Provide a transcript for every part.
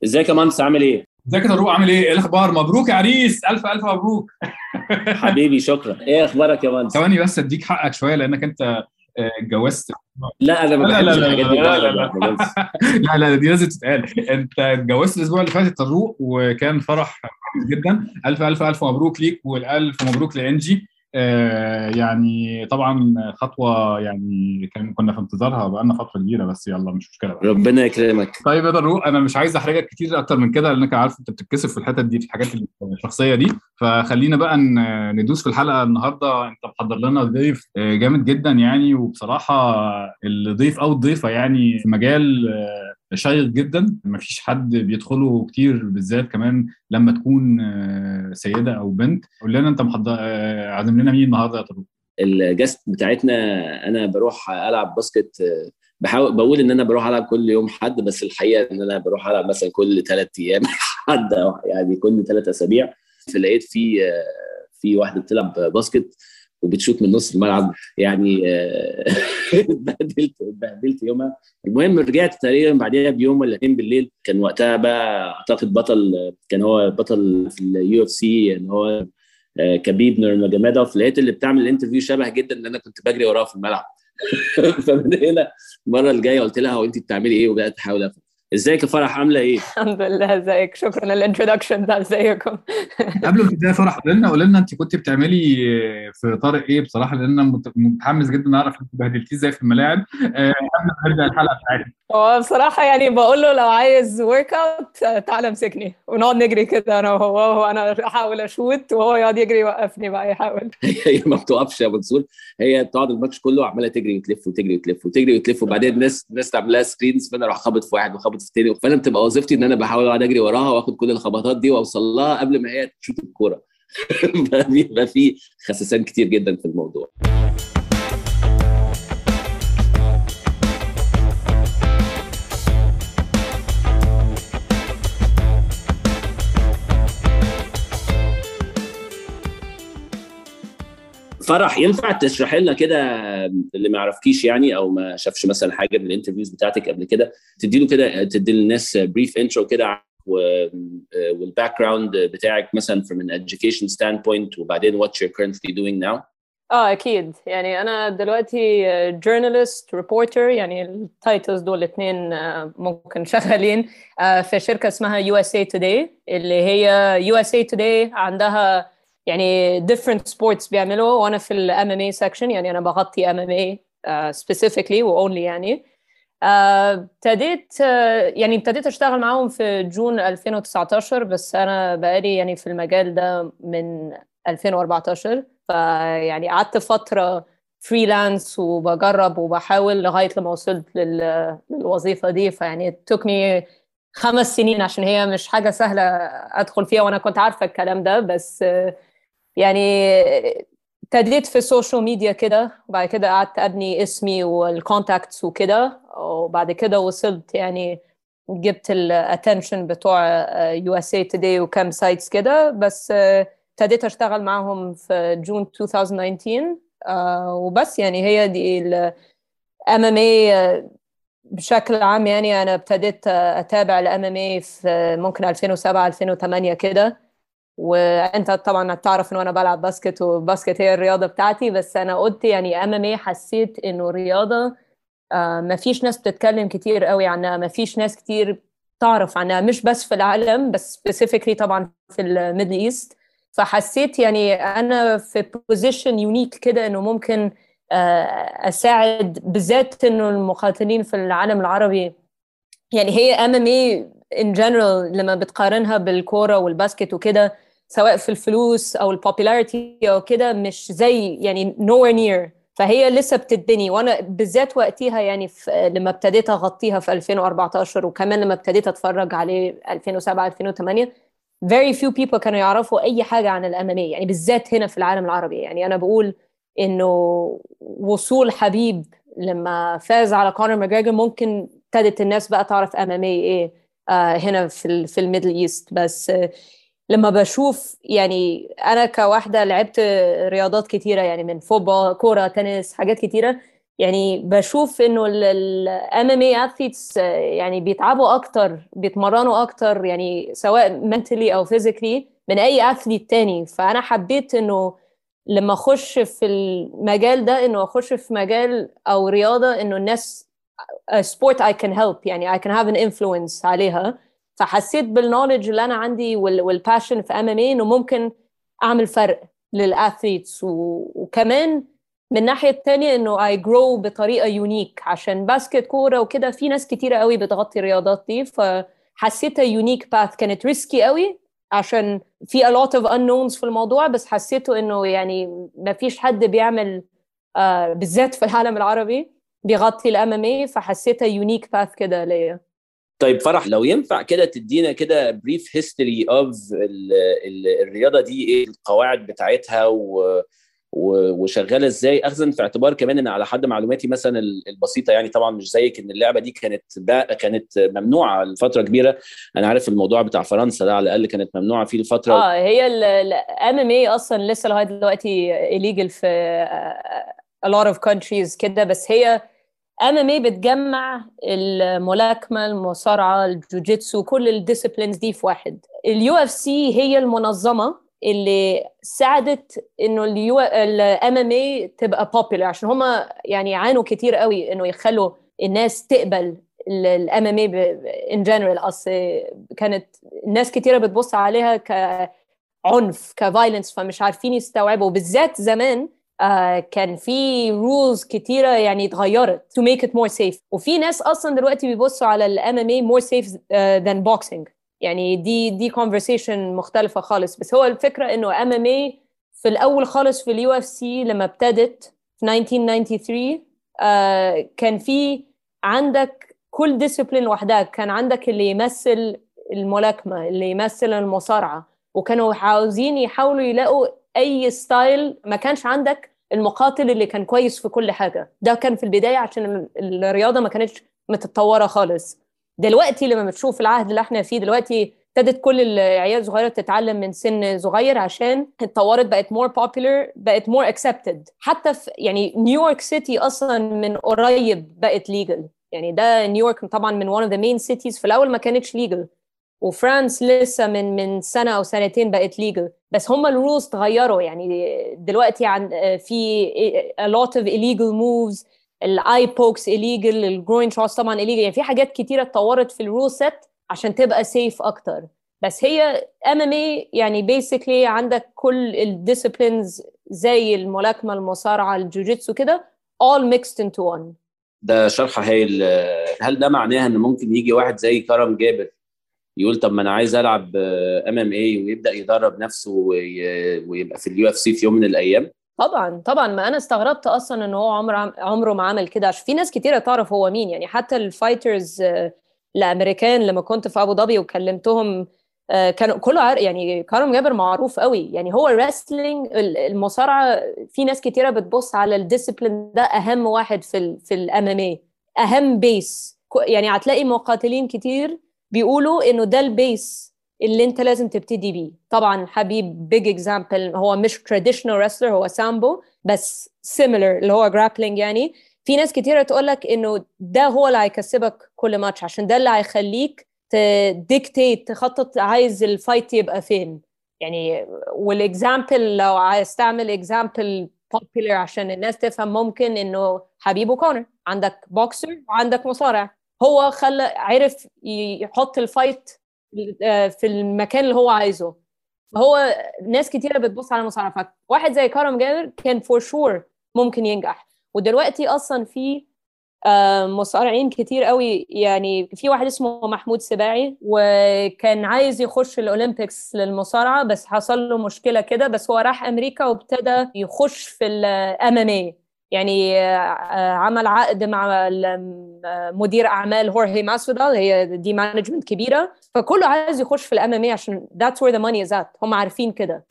ازيك يا مهندس عامل ايه؟ ازيك يا طارق؟ عامل ايه الاخبار؟ مبروك يا عريس، الف الف مبروك. حبيبي شكرا. ايه اخبارك يا مهندس؟ ثواني بس اديك حقك شويه لانك انت اتجوزت. لا انا ما لا لا بحبش لا الحاجات دي لا لا بهرج يا لا باشمهندس. لا لا، دي لازم تتقال. انت اتجوزت الاسبوع اللي فات يا طارق، وكان فرح كويس جدا. الف الف الف مبروك ليك، والالف مبروك لانجي. يعني طبعا خطوه، يعني كنا في انتظارها بقالنا فتره كبيره، بس يلا مش مشكله بقى. ربنا يكرمك. طيب يا ضروق، انا مش عايز احرجك كتير اكتر من كده، لانك عارف انت بتتكسف في الحتت دي، في الحاجات الشخصيه دي. فخلينا بقى ندوس في الحلقه النهارده. انت محضر لنا ضيف جامد جدا يعني، وبصراحه الضيف او الضيفه يعني في مجال شيق جدا، مفيش حد بيدخله كتير، بالذات كمان لما تكون سيده او بنت. قول لنا انت محضر عازم لنا مين النهارده يا طارق؟ الجست بتاعتنا، انا بروح العب باسكت. بحاول بقول ان انا بروح العب كل يوم حد، بس الحقيقه ان انا بروح العب مثلا كل 3 ايام حد، أو يعني كل 3 اسابيع. فلقيت في واحده بتلعب باسكت وبتشوت من نص الملعب يعني. اتبهدلت يومها. المهم رجعت تقريبا بعدها بيوم ولا اتنين بالليل. كان وقتها بقى اعتقد كان هو بطل في اليو اف سي، ان هو كبيب نورماجومedov. لقيت اللي بتعمل الانترفيو شبه جدا اللي انا كنت بجري وراه في الملعب. فمن هنا المره الجايه قلت لها هو انت بتعملي ايه، وبقت احاول افهم. ازيك يا فرح عامله ايه؟ الحمد لله. ازيك؟ شكرا للانترودكشن ده. ازيكم؟ قبل ما تبداي فرح، قول لنا انت كنت بتعملي في طارق ايه بصراحه، لان انا متحمس جدا اعرف انت بهدلتيه ازاي في الملاعب قبل ما نبدا الحلقه بتاعتنا. هو بصراحة يعني بقول له لو عايز ورك اوت تعالى امسكني ونقعد نجري كده انا وهو انا احاول اشوت وهو يقعد يجري يوقفني بقى يحاول. هي ما بتوقفش يا منصور. هي بتقعد الماتش كله عماله تجري وتلف وتجري وتلف وتجري وتلف، وبعدين الناس تعمل لها سكرينز، فانا اروح خابط في واحد وخابط في التاني. فانا بتبقى وظيفتي ان انا بحاول اقعد اجري وراها واخد كل الخبطات دي واوصل لها قبل ما هي تشوت الكوره. بيبقى في خسسان كتير جدا في الموضوع. فرح، ينفع تشرح لنا كده اللي ما يعرفكيش يعني، او ما شافش مثلا حاجه من الانترفيوز بتاعتك قبل كده، تدي للناس بريف انترو كده والباك جراوند بتاعك مثلا from an education standpoint، وبعدين what you're currently doing now. اكيد. يعني انا دلوقتي جورنالست ريبورتر، يعني التايتلز دول الاثنين ممكن شغالين في شركة اسمها USA Today، اللي هي USA Today عندها يعني different sports بيعملوا، وانا في ال MMA section، يعني انا بغطي MMA specifically و only يعني. ابتديت اشتغل معاهم في جون 2019، بس انا بقالي يعني في المجال ده من 2014. فيعني قعدت فترة فريلانس وبجرب وبحاول لغاية لما وصلت للوظيفة دي. فيعني it took me 5 سنين عشان هي مش حاجة سهلة أدخل فيها، وأنا كنت عارفة الكلام ده. بس يعني ابتديت في السوشيال ميديا كده، وبعد كده قعدت أبني اسمي والكونتاكتس وكده، وبعد كده وصلت يعني جبت الاتنشن بتوع USA Today وكام سايتس كده. بس ابتديت اشتغل معاهم في جون 2019. وبس يعني هي دي ال MMA بشكل عام. يعني انا ابتديت اتابع ال MMA في ممكن 2007 2008 كده. وانت طبعا تعرف ان انا بلعب باسكت، وباسكت هي الرياضة بتاعتي. بس انا قلت يعني MMA حسيت انه رياضة ما فيش ناس بتتكلم كتير قوي عنها، ما فيش ناس كتير تعرف عنها، مش بس في العالم بس specifically طبعا في الميدل ايست. فحسيت يعني انا في بوزيشن يونيك كده انه ممكن اساعد، بالذات انه المقاتلين في العالم العربي. يعني هي MMA in general لما بتقارنها بالكورة والباسكت وكده، سواء في الفلوس او البوبولاريتي او كده، مش زي يعني nowhere near. فهي لسه بتتبني، وانا بالذات وقتها يعني لما ابتديت اغطيها في 2014، وكمان لما ابتديت اتفرج عليه 2007 2008، very few people كانوا يعرفوا اي حاجة عن الام ام اي، يعني بالذات هنا في العالم العربي. يعني انا بقول انه وصول حبيب لما فاز على كونر ماجريجر ممكن ابتدت الناس بقى تعرف ام ام اي ايه هنا في الميدل ايست. بس لما بشوف يعني انا كواحده لعبت رياضات كتيره، يعني من فوتبول، كوره، تنس، حاجات كتيره، يعني بشوف انه ال MMA athletes يعني بيتعبوا اكتر، بيتمرنوا اكتر، يعني سواء mentally او physically من اي athlete تاني. فانا حبيت انه لما اخش في المجال ده، انه اخش في مجال او رياضة انه الناس sport I can help، يعني I can have an influence عليها. فحسيت بالنولج اللي انا عندي والباشن في MMA انه ممكن اعمل فرق للاثليتس، وكمان من الناحية التانية انه I grow بطريقة يونيك، عشان باسكت كورة وكده في ناس كتيرة قوي بتغطي الرياضات دي. فحسيتها يونيك باث، كانت ريسكي قوي عشان في a lot of unknowns في الموضوع، بس حسيته انه يعني ما فيش حد بيعمل بالذات في العالم العربي بيغطي الMMA، فحسيتها يونيك باث كده ليا. طيب فرح، لو ينفع كده تدينا كده بريف هيستوري اوف الرياضه دي، ايه القواعد بتاعتها وشغاله ازاي، اخذا في اعتبار كمان ان على حد معلوماتي مثلا البسيطه، يعني طبعا مش زيك، ان اللعبه دي كانت ممنوعه لفتره كبيره. انا عارف الموضوع بتاع فرنسا ده على الاقل كانت ممنوعه فيه لفتره. هي MMA اصلا لسه لغايه دلوقتي illegal في a lot of countries كده، بس هي MMA بتجمع الملاكمة، المصارعة، الجوجيتسو، كل الديسيبلينز دي في واحد. UFC هي المنظمة اللي ساعدت انه MMA تبقى popular، عشان هما يعني عانوا كتير قوي انه يخلوا الناس تقبل MMA in general. اصل كانت الناس كتيرة بتبص عليها كعنف، كفايلنس، فمش عارفين يستوعبوا. بالذات زمان كان في rules كتيرة يعني اتغيرت to make it more safe، وفي ناس أصلا دلوقتي بيبصوا على ال MMA more safe than boxing. يعني دي conversation مختلفة خالص. بس هو الفكرة إنه MMA في الأول خالص في UFC لما ابتدت في 1993 كان في عندك كل discipline لوحدها. كان عندك اللي يمثل الملاكمة، اللي يمثل المصارعة، وكانوا عاوزين يحاولوا يلاقوا اي ستايل. ما كانش عندك المقاتل اللي كان كويس في كل حاجه، ده كان في البدايه عشان الرياضه ما كانتش متطوره خالص. دلوقتي لما بتشوف العهد اللي احنا فيه دلوقتي، ابتدت كل العيال الصغيره تتعلم من سن صغير، عشان اتطورت، بقت more popular، بقت more accepted. حتى في يعني نيويورك سيتي اصلا من قريب بقت legal. يعني ده نيويورك طبعا من one of the main cities، في الاول ما كانتش legal، وفرانس لسه من سنة أو سنتين بقت legal. بس هم الرولز تغيروا. يعني دلوقتي في a lot of illegal moves، الاي بوكس illegal، الجروين شوتس طبعا illegal. يعني في حاجات كتيرة اتطورت في الرول سيت عشان تبقى safe أكتر. بس هي MMA يعني basically عندك كل الديسيبلينز زي الملاكمة، المصارعة، الجوجيتسو كده all mixed into one. ده شرح هايل. هل ده معناه ان ممكن يجي واحد زي كرم جابر يقول طب ما انا عايز العب MMA ويبدا يدرب نفسه ويبقى في UFC في يوم من الايام؟ طبعا طبعا. ما انا استغربت اصلا ان هو عمره ما عمل كده، عشان في ناس كتيره تعرف هو مين. يعني حتى الفايترز الامريكان لما كنت في ابو ظبي وكلمتهم كانوا كله يعني كرم جابر معروف قوي. يعني هو الريسلينج، المصارعه، في ناس كتيره بتبص على الديسيبلين ده اهم واحد في الMMA، اهم بيس. يعني هتلاقي مقاتلين كتير بيقولوا انه ده البيس اللي انت لازم تبتدي بيه. طبعا حبيب بيج اكزامبل، هو مش تراديشنال ريسلر، هو سامبو، بس سيميلر اللي هو جرابلينج. يعني في ناس كتيرة تقولك انه ده هو اللي هيكسبك كل ماتش، عشان ده اللي هيخليك تديكتيت، تخطط عايز الفايت يبقى فين. يعني والاكزامبل لو عايز تعمل اكزامبل popular عشان الناس تفهم، ممكن انه حبيب وكونر، عندك بوكسر وعندك مصارع، هو عرف يحط الفايت في المكان اللي هو عايزه. هو ناس كتيرة بتبص على المصارعة، واحد زي كرم جابر كان فور شور ممكن ينجح. ودلوقتي أصلا في مصارعين كتير قوي. يعني في واحد اسمه محمود سباعي، وكان عايز يخش الأولمبيكس للمصارعة، بس حصل له مشكلة كده، بس هو راح أمريكا وابتدى يخش في MMA. يعني عمل عقد مع مدير أعمال هورهي ماسودال، هي دي مانجمنت كبيرة، فكله عايز يخش في MMA عشان that's where the money is at. هم عارفين كده.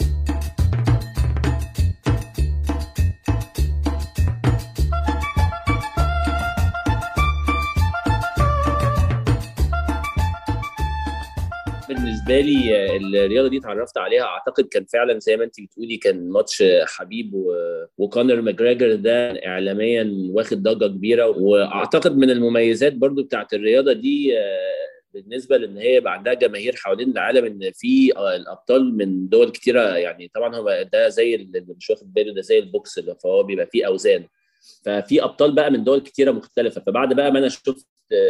بالنسبه لي الرياضه دي اتعرفت عليها اعتقد كان فعلا زي ما انت بتقولي كان ماتش حبيب وكونر ماجريجر ده اعلاميا واخد ضجه كبيره. واعتقد من المميزات برضو بتاعت الرياضه دي بالنسبه لان هي يبقى عندها جماهير حوالين العالم ان في الابطال من دول كتيره. يعني طبعا هو ده زي اللي مش واخد باله، ده زي البوكس اللي فهو بيبقى فيه اوزان، ففي ابطال بقى من دول كتيره مختلفه. فبعد بقى ما انا شفت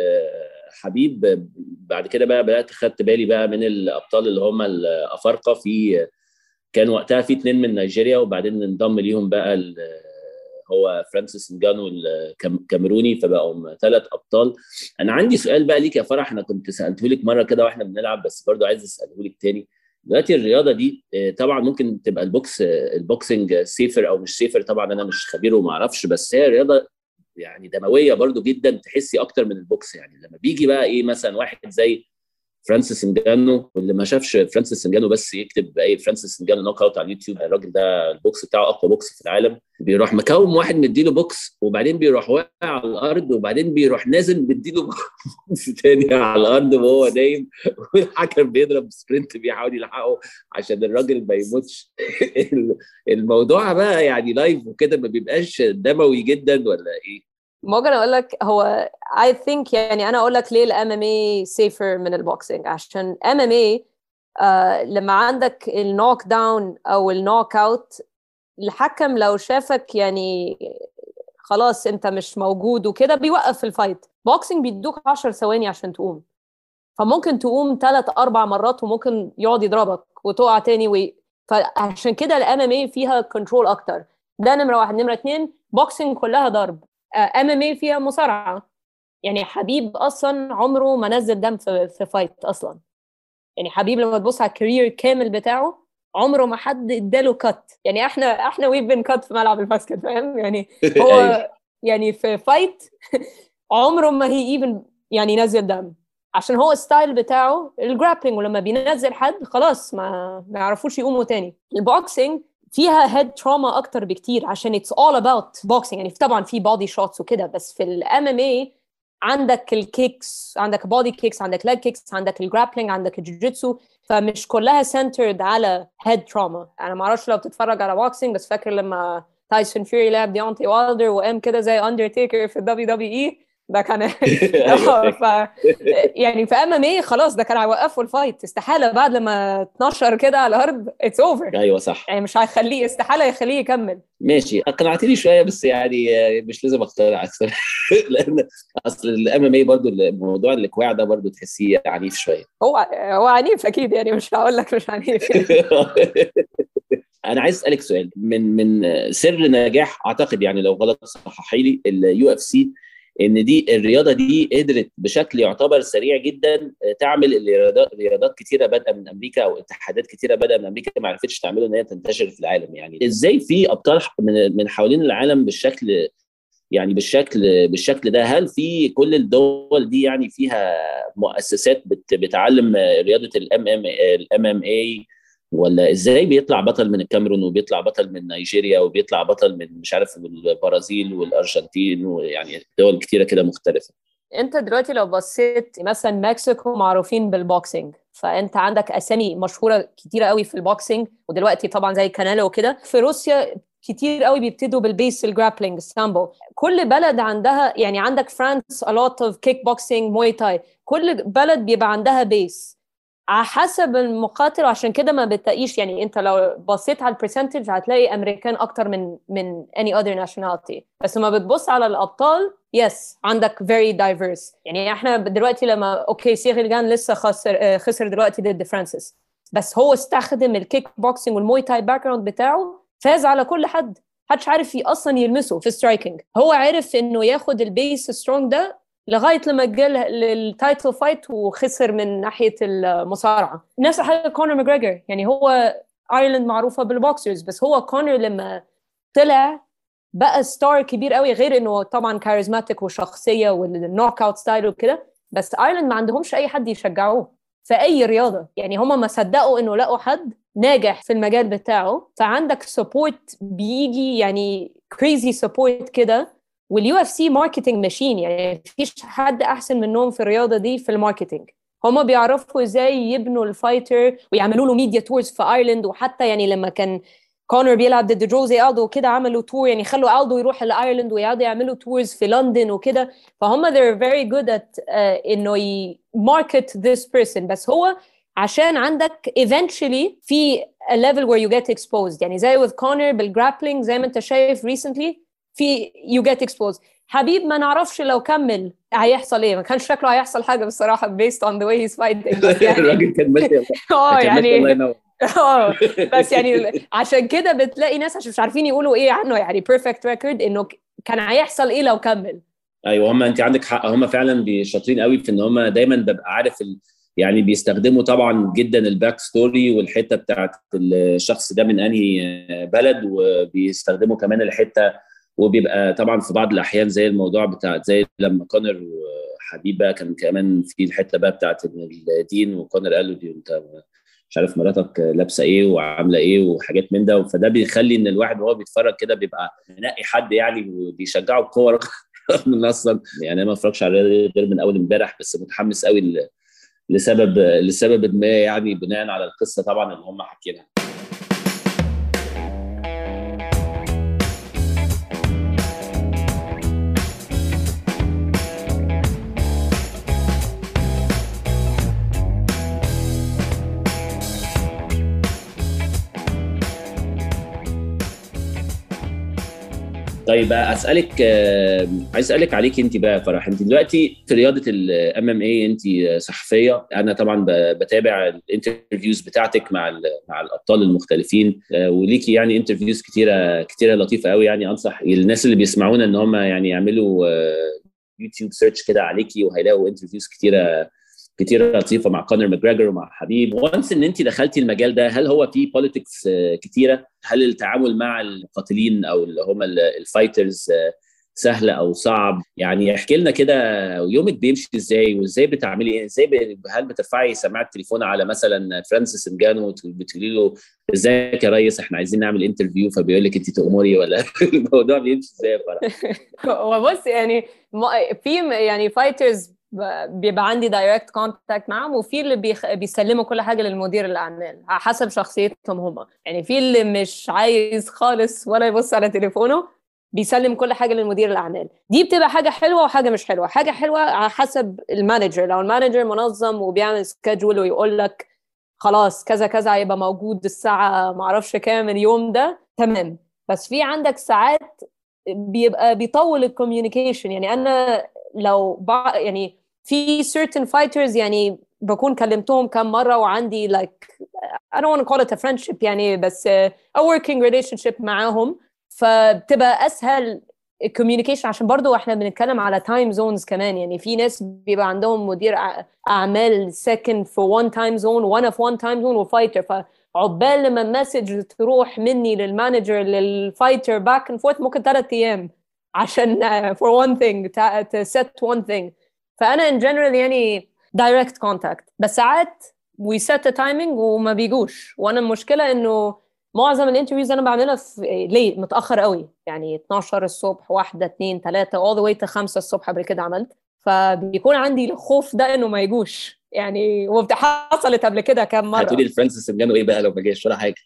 حبيب بعد كده بقى بدات خدت بالي بقى من الابطال اللي هم الافارقه. في كان وقتها في 2 من نيجيريا وبعدين انضم ليهم بقى هو فرانسيس نجانو الكاميروني، فبقوا 3 ابطال. انا عندي سؤال بقى ليك يا فرح، انا كنت سالته لك مره كده واحنا بنلعب بس برضو عايز اساله لك تاني. دلوقتي الرياضه دي طبعا ممكن تبقى البوكسنج سيفر او مش سيفر، طبعا انا مش خبير وما اعرفش، بس هي رياضه يعني دمويه برضو جدا، تحسي اكتر من البوكس. يعني لما بيجي بقى ايه مثلا واحد زي فرانسيس نجانو، واللي ما شافش فرانسيس نجانو بس يكتب اي فرانسيس نجانو نوك اوت على اليوتيوب، الراجل ده البوكس بتاعه اقوى بوكس في العالم. بيروح مكوم واحد مديله بوكس وبعدين بيروح واقع على الارض وبعدين بيروح نازل مديله بوكس تاني على الارض وهو نايم، والحكم بيضرب سبرنت بيحاول يلحقه عشان الراجل ما يموتش. الموضوع بقى يعني لايف وكده ما بيبقاش دموي جدا ولا ايه؟ ممكن اقول لك هو I think يعني انا اقول لك ليه الام ام اي سيفر من البوكسينج. عشان ام ام اي لما عندك النوك داون او النوك اوت، الحكم لو شافك يعني خلاص انت مش موجود وكده بيوقف الفايت. بوكسينج بيدوك 10 ثواني عشان تقوم، فممكن تقوم 3-4 مرات وممكن يقعد يضربك وتقع تاني فعشان كده الام ام اي فيها كنترول اكتر. ده نمره 1. نمره 2 بوكسينج كلها ضرب. ام ام اي فيها مصارعه. يعني حبيب اصلا عمره ما نزل دم في فايت اصلا. يعني حبيب لما تبص على الكارير كامل بتاعه عمره ما حد اداله كات. يعني احنا ويف بين كات في ملعب الباسكت، فاهم يعني. هو يعني في فايت عمره ما هي ايفن يعني نزل دم، عشان هو الستايل بتاعه الجرابلينج، ولما بينزل حد خلاص ما يعرفوش يقوموا تاني. البوكسينج فيها هيد تروما اكتر بكتير عشان it's all about boxing. يعني طبعا في بودي شوتس وكده، بس في الام ام اي عندك الكيكس، عندك بودي كيكس، عندك لاج كيكس، عندك الجرابلينج، عندك الجوجيتسو، فمش كلها سنترد على هيد تروما. انا ما اعرفش لو بتتفرج على بوكسينج، بس فاكر لما تايسون فيوري لعب ديونتي والدر وقام كده زي اندرتيكر في الدبليو دبليو اي، ده كان يعني في ام ام اي خلاص ده كان هيوقفوا الفايت استحاله. بعد لما اتنشر كده على الارض اتس اوفر. ايوه صح، يعني مش هيخليه، استحاله يخليه يكمل. ماشي اقنعتني شويه بس يعني مش لازم اقتنع اكثر. لان اصل الام ام اي برضه الموضوع الاكواع ده برضه تحسيه عنيف شويه. هو عنيف اكيد، يعني مش هقول لك مش عنيف يعني. انا عايز اسالك سؤال. من سر نجاح اعتقد، يعني لو غلط صححي لي، اليو اف سي، ان دي الرياضه دي قدرت بشكل يعتبر سريع جدا تعمل رياضات كتيره بادئه من امريكا او اتحادات كتيره بادئه من امريكا ما عرفتش تعمله ان هي تنتشر في العالم. يعني ازاي في ابطال من حوالين العالم بالشكل، يعني بالشكل ده؟ هل في كل الدول دي يعني فيها مؤسسات بتعلم رياضه الام ام اي، ولا ازاي بيطلع بطل من الكاميرون وبيطلع بطل من نيجيريا وبيطلع بطل من مش عارف البرازيل والارجنتين ويعني دول كتيره كده مختلفه؟ انت دلوقتي لو بصيت مثلا مكسيكو معروفين بالبوكسينج، فانت عندك اسامي مشهوره كتيره قوي في البوكسينج، ودلوقتي طبعا زي كانيلو وكده. في روسيا كتير قوي بيبتدوا بالبيس الجرابلينج السامبو. كل بلد عندها، يعني عندك فرانس a lot of kick boxing موي تاي. كل بلد بيبقى عندها بيس على حسب المقاتل، وعشان كده ما بتلاقيش، يعني انت لو بصيت على البرسنتج هتلاقي امريكان اكتر من any other nationality. بس لما بتبص على الابطال يس عندك very diverse. يعني احنا دلوقتي لما اوكي سيغيل جان لسه خسر دلوقتي ضد فرانسيس، بس هو استخدم الكيك بوكسينج والموي تاي باك جراوند بتاعه، فاز على كل حد. محدش عارف اصلا يلمسه في سترايكنج. هو عرف انه ياخد البيس سترونج ده لغايه لما جه للتايتل فايت وخسر من ناحيه المصارعه. نفس الحاجه كونر ماجريجر. يعني هو ايرلند معروفه بالبوكسرز، بس هو كونر لما طلع بقى ستار كبير قوي، غير انه طبعا كاريزماتيك وشخصيه والنوك اوت ستايل وكده. بس ايرلند ما عندهمش اي حد يشجعوه في اي رياضه. يعني هم ما صدقوا انه لقوا حد ناجح في المجال بتاعه. فعندك سبورت بيجي، يعني كريزي سبورت كده. واليو اف سي ماركتنج ماشين، يعني مفيش حد احسن منهم في الرياضه دي في الماركتنج. هما بيعرفوا ازاي يبنوا الفايتر ويعملوا له ميديا تورز في ايرلند. وحتى يعني لما كان كونر بيلعب ضد جوزي ألدو وكده عملوا تور، يعني خلوا ألدو يروح لايرلند ويقعدوا يعملوا تورز في لندن وكده. فهم they're very good at انه market this person. بس هو عشان عندك eventually في a level where you get exposed، يعني زي with Conor بالgrappling زي ما انت شايف recently في you get exposed. حبيب ما نعرفش لو كمل هيحصل ايه، ما كانش شكله هيحصل حاجه بصراحه based on the way he's fighting. بس يعني الراجل كان ماشي يعني الله ينور. بس يعني عشان كده بتلاقي ناس عشان مش عارفين يقولوا ايه عنه، يعني perfect record انه كان هيحصل ايه لو كمل. ايوه هم انت عندك حق، هم فعلا شاطرين قوي في ان هم دايما ببقى عارف يعني بيستخدموا طبعا جدا الباك ستوري والحته بتاعت الشخص ده من انهي بلد، وبيستخدموا كمان الحته، وبيبقى طبعا في بعض الاحيان زي الموضوع بتاع زي لما كونر وحبيب بقى كان كمان في الحته بقى بتاعت الدين، وكونر قال له دي انت مش عارف مراتك لابسه ايه وعامله ايه وحاجات من ده. فده بيخلي ان الواحد وهو بيتفرج كده بيبقى منقي حد يعني وبيشجعه بقوه من اصلا يعني انا ما اتفرجش على غير من اول امبارح، بس متحمس قوي لسبب ما يعني بناء على القصه طبعا اللي هم حكيناها. طيب اسالك، عايز اسالك عليك انت بقى فرح. انت دلوقتي في رياضه الام ام اي انت صحفيه، انا طبعا بتابع الانترفيوز بتاعتك مع الابطال المختلفين، وليكي يعني انترفيوز كتيره لطيفه قوي. يعني انصح الناس اللي بيسمعونا ان هم يعني يعملوا يوتيوب سيرش كده عليكي وهيلاقوا انترفيوز كتيره لطيفه مع كونر ماجريجر ومع حبيب. وانس ان انت دخلتي المجال ده، هل هو فيه بوليتكس كتيره؟ هل التعامل مع المقاتلين او اللي هم الفايترز سهل او صعب؟ يعني احكي لنا كده يومك بيمشي ازاي، وازاي بتعملي ايه، هل بترفعي سماعه التليفون على مثلا فرانسيس انجانو وبتقولي له ازيك يا ريس احنا عايزين نعمل انترفيو، فبيقول لك انت تأمري، ولا الموضوع بيمشي ازاي؟ وبص يعني في يعني فايترز بيبقى عندي دايركت كونتاكت معهم، وفي اللي بيسلموا كل حاجه للمدير الاعمال على حسب شخصيتهم هم. يعني في اللي مش عايز خالص ولا يبص على تليفونه بيسلم كل حاجه للمدير الاعمال. دي بتبقى حاجه حلوه وحاجه مش حلوه. حاجه حلوه على حسب المانجر، لو المانجر منظم وبيعمل سكادجول ويقول لك خلاص كذا كذا هيبقى موجود الساعه معرفش كام اليوم ده، تمام. بس في عندك ساعات بيبقى بيطول الكوميونيكيشن. يعني انا لو يعني في certain fighters يعني بكون كلمتهم كم مرة وعندي like I don't want to call it a friendship يعني، بس a working relationship معاهم، فبتبقى أسهل الكوميونيكيشن. عشان برضو احنا بنتكلم على time zones كمان. يعني في ناس بيبقى عندهم مدير أعمال ساكن في one time zone وأنا في one time zone وفايتر، فعقبال لما المسج تروح مني للمانجر للفايتر back and forth ممكن 3 أيام عشان for one thing to set one thing. فأنا in general يعني direct contact، بس ساعات we set a timing وما بيجوش. وأنا المشكلة إنه معظم الانترفيوز أنا بعملها في ليه متأخر قوي، يعني 12 الصبح 1 2 3 all the way to 5 الصبح قبل كده عملت. فبيكون عندي الخوف ده إنه ما يجوش يعني، حصلت قبل كده كام مرة. هتقولي لفرانسيس انجانو ايه بقى لو ما جاش؟ ولا حاجة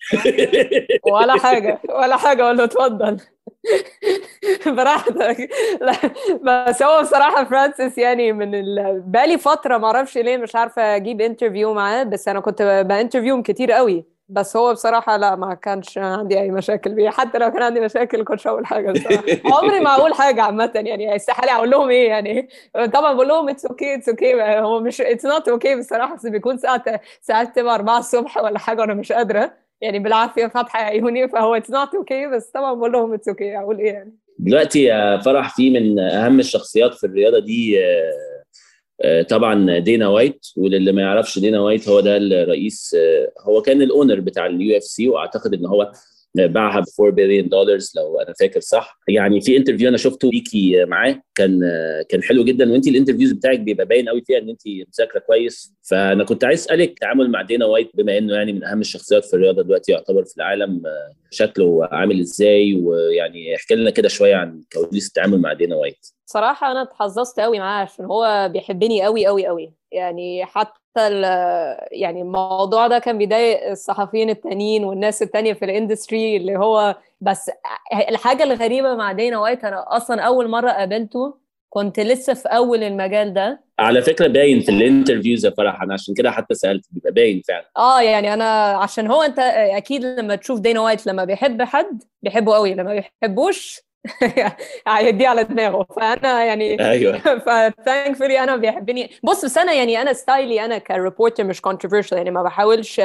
ولا حاجة أقول له اتفضل براحتك. بس هو بصراحة فرانسيس يعني بقالي فترة معرفش ليه مش عارفة أجيب انترفيو معاه، بس أنا كنت بانترفيوم كتير قوي. بس هو بصراحة لا، ما كانش عندي أي مشاكل بيه. حتى لو كان عندي مشاكل كنتش أقول حاجة بصراحة. عمري ما أقول حاجة عامة يعني، استحالة أقول لهم إيه يعني. طبعا بقول لهم it's okay هو مش it's not okay بصراحة. بس بيكون ساعات تبقى 4 الصبح ولا حاجة وأنا مش قادرة يعني بالعافية فاتحة عيوني، فهو it's not okay. بس طبعا بقول لهم it's okay، أقول إيه يعني. دلوقتي يا فرح في من اهم الشخصيات في الرياضه دي طبعا دينا وايت. وللي ما يعرفش دينا وايت هو ده الرئيس، هو كان الاونر بتاع اليو اف سي، واعتقد ان هو باعها ب $4 billion لو انا فاكر صح. يعني في انترفيو انا شفته ليكي معاه كان حلو جدا، وانت الانترفيوز بتاعك بيبقى باين قوي فيها ان انت مذاكره كويس. فانا كنت عايز اسالك التعامل مع دينا وايت بما انه يعني من اهم الشخصيات في الرياضه دلوقتي يعتبر في العالم، شكله عامل ازاي؟ ويعني احكي لنا كده شويه عن كواليس التعامل مع دينا وايت. صراحة أنا اتحظظت قوي معاه عشان هو بيحبني قوي قوي قوي يعني. حتى يعني الموضوع ده كان بيضايق الصحفيين التانيين والناس التانية في الاندستري، اللي هو بس الحاجة الغريبة مع دينا وايت، أنا أصلا أول مرة قابلته كنت لسه في أول المجال ده. على فكره باين في الانترفيوز يا فرح، انا عشان كده حتى سالت، بيبقى باين فعلا. يعني انا عشان هو انت اكيد لما تشوف دينا وايت لما بيحب حد بيحبه قوي، لما بيحبوش هيديه على دماغه. فانا يعني ايوه فتانكفولي انا بيحبني. بس انا يعني انا ستايلي انا كريبورتر مش كونتروفيرشال، يعني ما بحاولش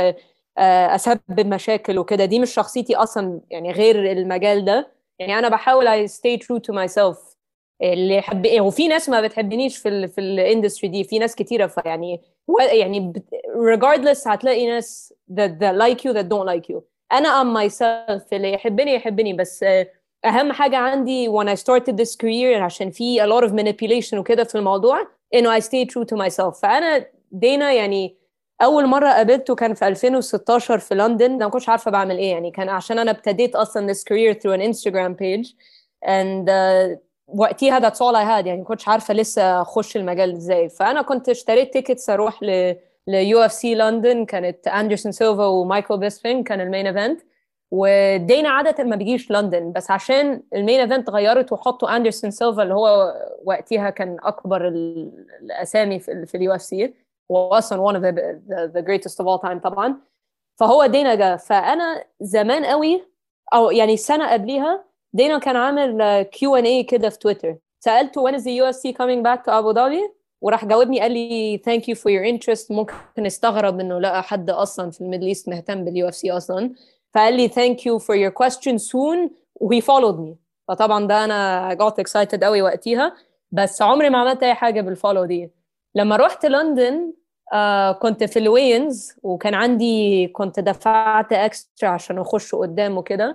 اسبب مشاكل وكده، دي مش شخصيتي اصلا يعني غير المجال ده. يعني انا بحاول I stay true to myself. اللي يحب وفي ناس ما بتحبنيش في الاندستري دي، في ناس كتيره، فيعني يعني regardless هتلاقي ناس that like you that don't like you. انا am myself، اللي يحبني يحبني. بس اهم حاجه عندي when I started this career، عشان في a lot of manipulation وكده في الموضوع، انه I stay true to myself. فانا دينا يعني اول مره قابلته كان في 2016 في لندن. انا ما كنتش عارفه بعمل ايه، يعني كان عشان انا ابتديت اصلا this career through an Instagram page and وقتها that's all I had، يعني ما كنتش عارفه لسه اخش المجال ازاي. فانا كنت اشتريت تيكتس اروح يو اف سي لندن، كانت اندرسون سيلفا ومايكل بيسبين كان المين ايفنت. ودينا عاده ما بيجيش لندن، بس عشان المين ايفنت غيرت وحطوا اندرسون سيلفا اللي هو وقتها كان اكبر الاسامي في اليو اف سي، واصلا one of the greatest of all time طبعا. فهو دينا جا. فانا زمان قوي او يعني سنه قبليها دينا كان عامل Q&A كده في تويتر، سالته when is the UFC coming back to Abu Dhabi، وراح جاوبني قال لي thank you for your interest. ممكن استغرب انه لقى حد اصلا في الميدل ايست مهتم باليو اف سي اصلا. فقال لي thank you for your question soon و he followed me. فطبعا ده انا got excited قوي وقتها، بس عمري ما عملت اي حاجه بالفولو دي. لما رحت لندن كنت في الوينز، وكان عندي كنت دفعت اكسترا عشان اخش قدام وكده.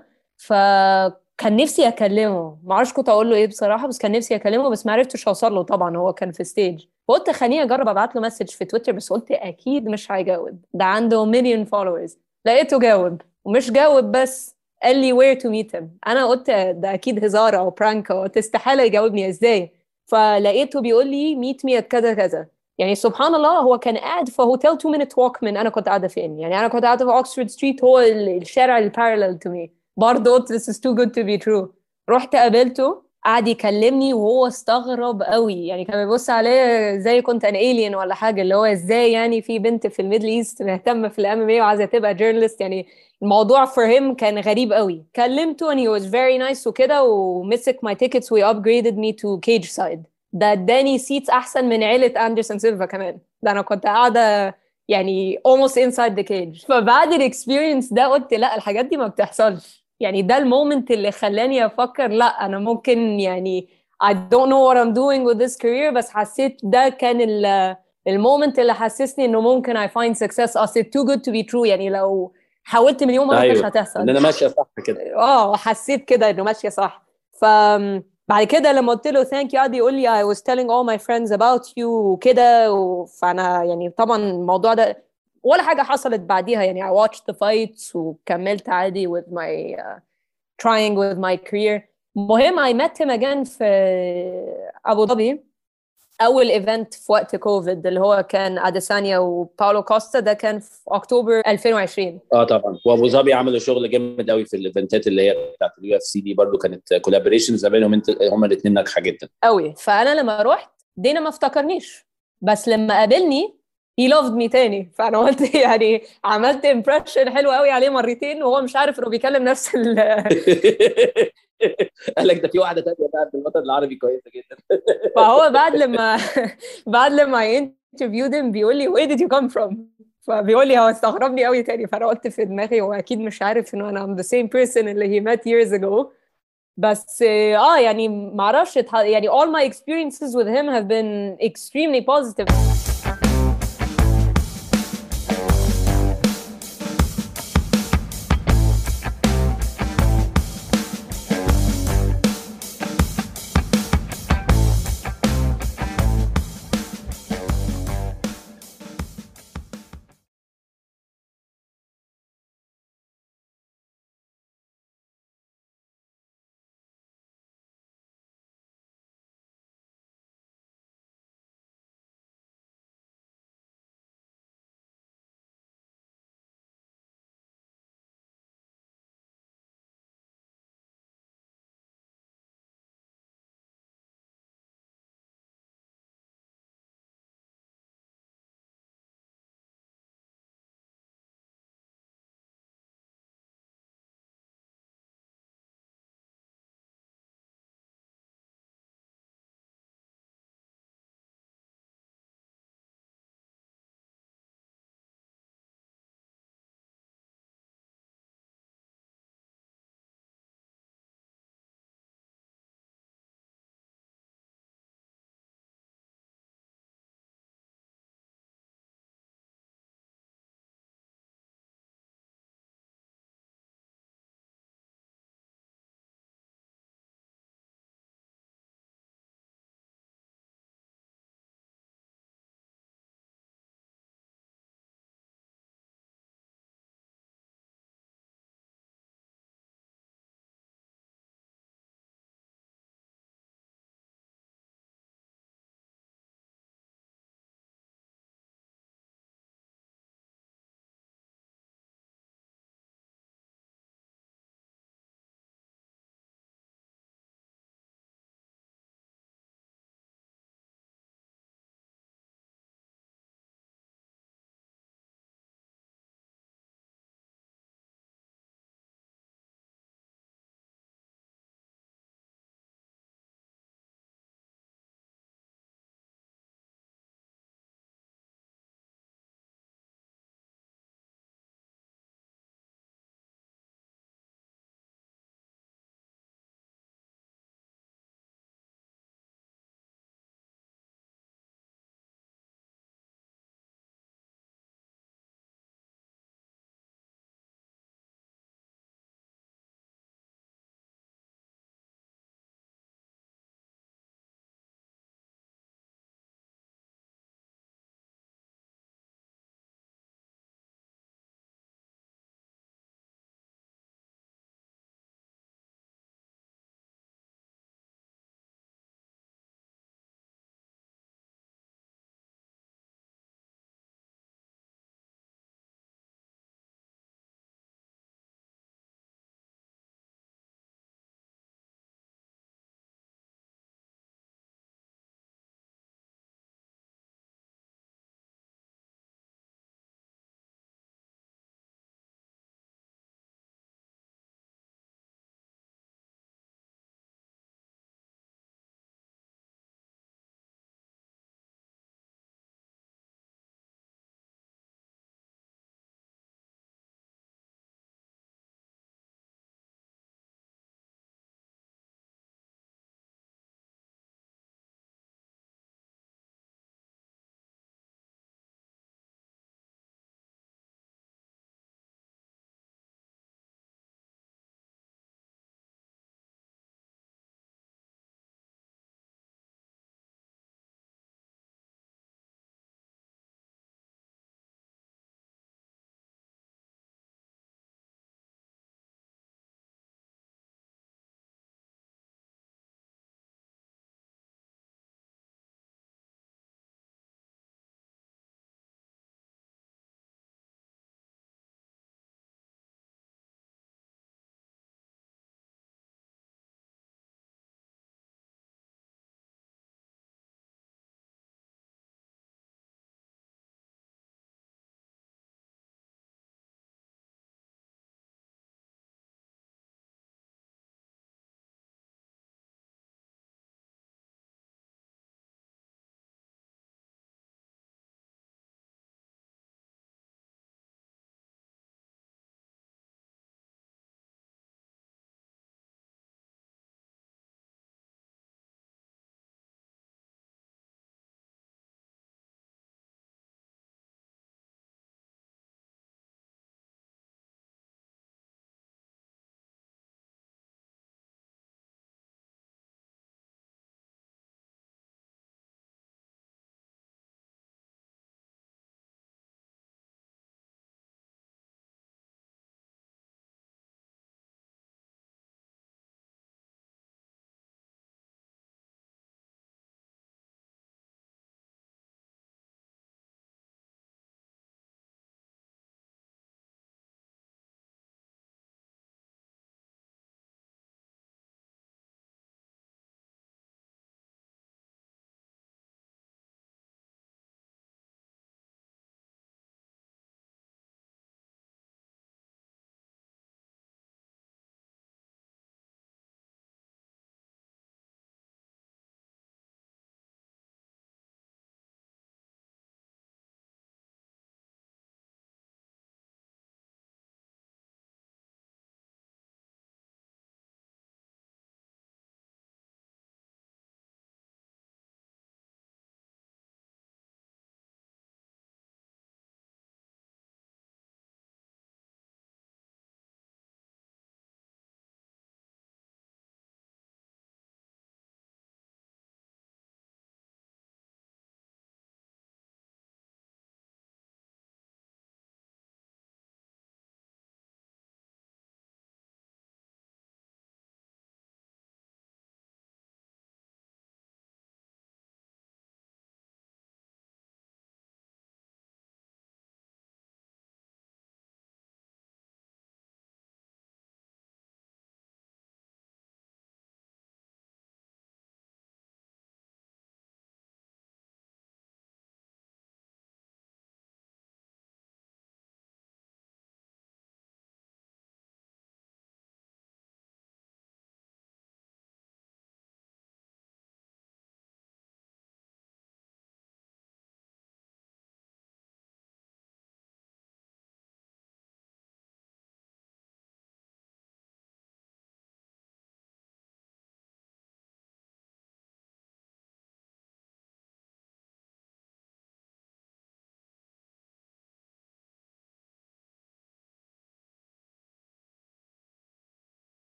فكان نفسي اكلمه، ما اعرفش كنت اقول له ايه بصراحه، بس كان نفسي اكلمه بس ما عرفتش اوصل له طبعا، هو كان في ستيج. فقلت خليني اجرب ابعت له مسج في تويتر، بس قلت اكيد مش هيجاوب، ده عنده مليون فولورز. لقيته جاوب، ومش جاوب بس قال لي where to meet him. انا قلت ده اكيد هزار او برانك، قلت استحاله يجاوبني ازاي. فلقيته بيقول لي meet me at كذا كذا. يعني سبحان الله هو كان قاعد في هوتيل 2 minute walk من انا كنت قاعده فين. يعني انا كنت قاعده في اوكسفورد ستريت، هو الشارع البارallel to me. برضه قلت this is too good to be true. رحت قابلته، قعد يكلمني وهو استغرب قوي، يعني كان بيبص عليه زي كنت ان alien ولا حاجه، اللي هو ازاي يعني في بنت في الميدل ايست مهتمه في الام ام اي وعايزه تبقى جورنالست. يعني الموضوع for him كان غريب قوي. كلمته and he was very nice وكده، ومسك my tickets we upgraded me to cage side. ده اداني سيتس احسن من عيله اندرسون سيلفا كمان. ده انا كنت قاعده يعني almost inside the cage. فبعد الاكسبيرينس ده قلت لا، الحاجات دي ما بتحصلش. يعني ده المومنت اللي خلاني افكر لا انا ممكن يعني I don't know what I'm doing with this career، بس حسيت ده كان المومنت اللي حسسني انه ممكن I find success. اصل too good to be true، يعني لو حاولت مليون مره مش ايوه هتحصل. ان انا ماشيه صح كده. حسيت كده انه ماشيه صح. ف بعد كده لما قلت له ثانك يو قعد يقول لي I was telling all my friends about you وكده فانا يعني طبعا الموضوع ده ولا حاجه حصلت بعديها. يعني I watched the fights وكملت عادي with my trying with my career. مهم I met him again في ابو ظبي، اول ايفنت في وقت كوفيد اللي هو كان اديسانيا وباولو كوستا، ده كان في اكتوبر 2020. طبعا، وابو ظبي عملوا شغل جامد قوي في الايفنتات اللي هي بتاعت اليو اف سي دي، برضو كانت كولابوريشنز ما بينهم هما الاثنين ناجحه جدا قوي. فانا لما رحت دينا ما افتكرنيش، بس لما قابلني he loved me تاني. فانا قلت يعني عملت امبريشن حلو قوي عليه مرتين، وهو مش عارف انه بيكلم نفس قال لك ده في واحده ثانيه بقى في الوطن العربي كويسه جدا. فهو بعد لما بعد لما انترفيو ديم بيقول لي where did you come from، فبيقول لي هو استغربني قوي تاني. فانا قلت في دماغي هو اكيد مش عارف انه انا I'm the same person اللي he met years ago. بس يعني ما اعرفش يعني all my experiences with him have been extremely positive.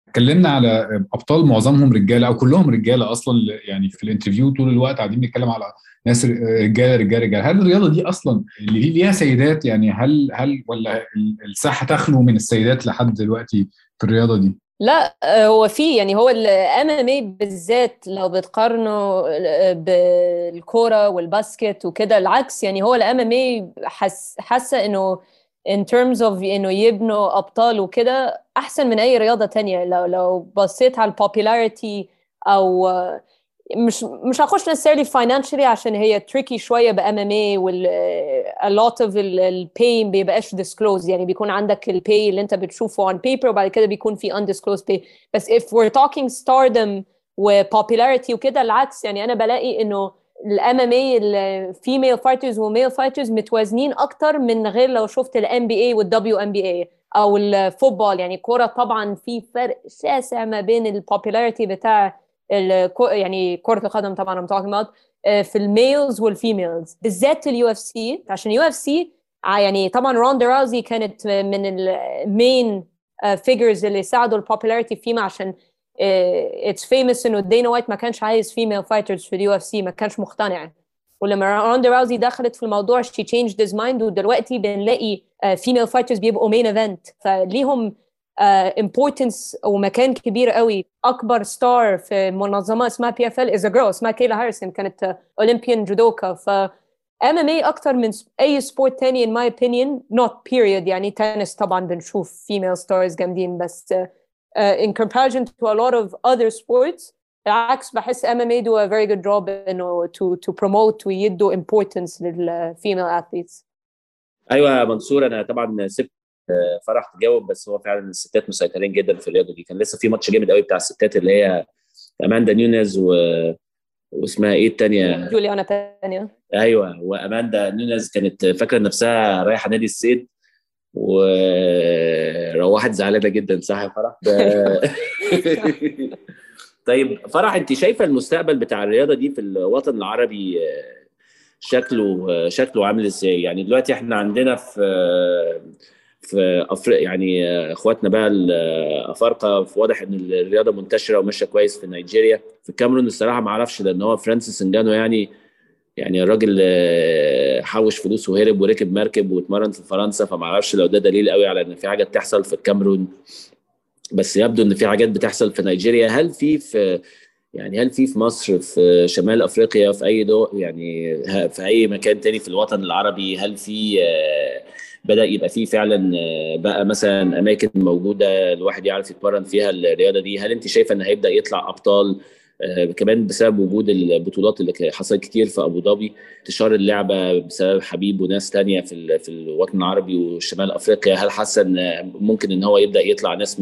اتكلمنا على ابطال معظمهم رجاله او كلهم رجاله اصلا، يعني في الانترفيو طول الوقت قاعدين بنتكلم على ناس رجاله رجاله رجاله. هل الرياضه دي اصلا اللي ليها سيدات؟ يعني هل ولا الساحه تخلو من السيدات لحد دلوقتي في الرياضه دي؟ لا، هو في يعني هو الام ام اي بالذات لو بتقارنه بالكوره والباسكت وكده، العكس يعني هو الام ام اي حاسه انه in terms of انه يبنوا ابطال وكده احسن من اي رياضه تانية. لو بصيت على البوبولاريتي او مش هخش necessarily financially عشان هي tricky شوية ب MMA a lot of ال pay بيبقاش disclosed، يعني بيكون عندك ال pay اللي انت بتشوفه on paper وبعد كده بيكون في undisclosed pay. بس if we're talking stardom و popularity وكده العكس، يعني انا بلاقي انه ال MMA ال female fighters و male fighters متوازنين اكتر من غير لو شفت ال NBA وال WNBA او الفوتبول. يعني كورة طبعا في فرق شاسع ما بين ال popularity بتاع يعني كرة القدم طبعا I'm talking about في الميلز والفيميلز بالذات اليو اف سي. عشان اليو اف سي يعني طبعا روندا راوزي كانت من المين فيجرز اللي ساعدوا البوبولاريتي فيما، عشان اتس فيموس انه دينا وايت ما كانش عايز فيميل فايترز في اليو اف سي، ما كانش مقتنع. ولما روندا راوزي دخلت في الموضوع she changed his mind، ودلوقتي بنلاقي فيميل فايترز بيبقوا مين ايفنت، فليهم importance ومكان كبير قوي. اكبر ستار في منظمه اسمها PFL is a girl اسمها كيلا هاريسون، كانت اولمبيان جودوكا. ف MMA اكتر من اي سبورت تاني in my opinion not period. يعني تنس طبعا بنشوف female stars جامدين، بس in comparison to a lot of other sports العكس بحس MMA do a very good job انه to promote ويدوا importance للفيميل athletes. ايوه يا منصور، انا طبعا سبت فرح تجاوب، بس هو فعلا الستات مسيطرين جدا في الرياضه دي. كان لسه في ماتش جامد قوي بتاع الستات اللي هي اماندا نيونيز واسمها ايه الثانيه؟ جوليانا بانيا. ايوه، واماندا نيونيز كانت فاكره نفسها رايحه نادي الصيد وروحت زعلانه جدا، صح يا فرح؟ طيب فرح، انت شايفه المستقبل بتاع الرياضه دي في الوطن العربي شكله عامل ازاي؟ يعني دلوقتي احنا عندنا في افريقيا يعني اخواتنا بقى الافارقه، واضح ان الرياضه منتشره وماشيه كويس في نيجيريا. في الكاميرون الصراحه ما اعرفش، لان هو فرانسيس انجانو يعني الراجل حوش فلوس وهرب وركب مركب واتمرن في فرنسا، فما اعرفش لو ده دليل قوي على ان في حاجه بتحصل في الكاميرون. بس يبدو ان في حاجات بتحصل في نيجيريا. هل في مصر، في شمال افريقيا، في اي دول، يعني في اي مكان تاني في الوطن العربي، هل في بدأ يبقى فيه فعلا بقى مثلا اماكن موجوده الواحد يعرف يتمرن فيها الرياضه دي؟ هل انت شايفه ان هيبدأ يطلع ابطال كمان بسبب وجود البطولات اللي حصلت كتير في ابو ظبي، انتشار اللعبه بسبب حبيب وناس تانية في الوطن العربي وشمال افريقيا؟ هل حاسه ان ممكن ان هو يبدا يطلع ناس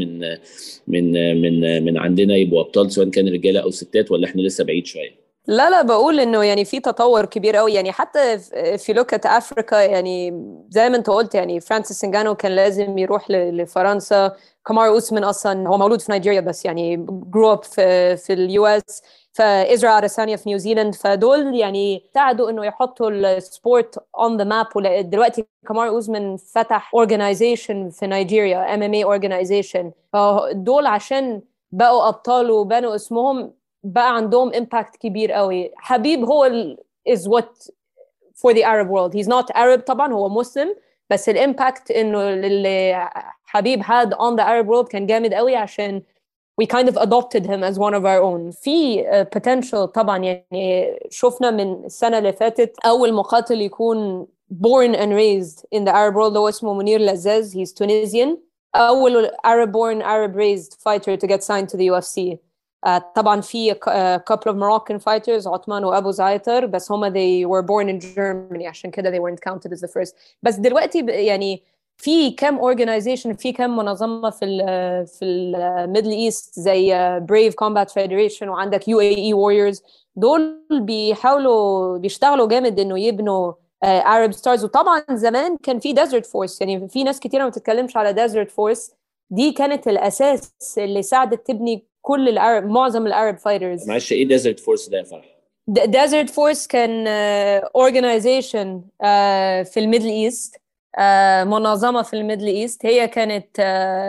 من عندنا يبقوا ابطال، سواء كان رجاله او ستات، ولا احنا لسه بعيد شويه؟ لا بقول انه يعني في تطور كبير قوي. يعني حتى في لوكة افريكا، يعني زي ما انت قلت، يعني فرانسيس انجانو كان لازم يروح لفرنسا. كامارو اوسمان اصلا هو مولود في نيجيريا بس يعني جرو اب في اليو اس. فإزرا أديسانيا في نيوزيلاند، فدول يعني ساعدوا انه يحطوا السبورت اون ذا ماب. دلوقتي كامارو اوسمان فتح اورجانيزيشن في نيجيريا، MMA اورجانيزيشن. فدول عشان بقوا ابطال وبنوا اسمهم بقى عندهم impact كبير قوي. حبيب هو is what for the Arab world. He's not Arab طبعا، هو مسلم، بس الامباكت انه اللي حبيب had on the Arab world كان جامد قوي، عشان we kind of adopted him as one of our own. في potential طبعا. يعني شفنا من السنة اللي فاتت أول مقاتل يكون born and raised in the Arab world هو اسمه منير لزاز. He's Tunisian. أول Arab born Arab raised fighter to get signed to the UFC. طبعا في couple of Moroccan fighters عثمان وأبو زعيتر، بس هما they were born in Germany عشان كده they weren't counted as the first. بس دلوقتي يعني في كم organization، في كم منظمة في الميدل ايست زي Brave Combat Federation، وعندك UAE Warriors. دول بيشتغلوا جامد انه يبنوا Arab stars. وطبعا زمان كان في Desert Force، يعني في ناس كتيرة ما بتتكلمش على Desert Force. دي كانت الأساس اللي ساعدت تبني كل معظم العرب فايترز. معلش، ايه ديزرت فورس ده يا فرح؟ ديزرت فورس كان organization في الميدل ايست، منظمة في الميدل ايست. هي كانت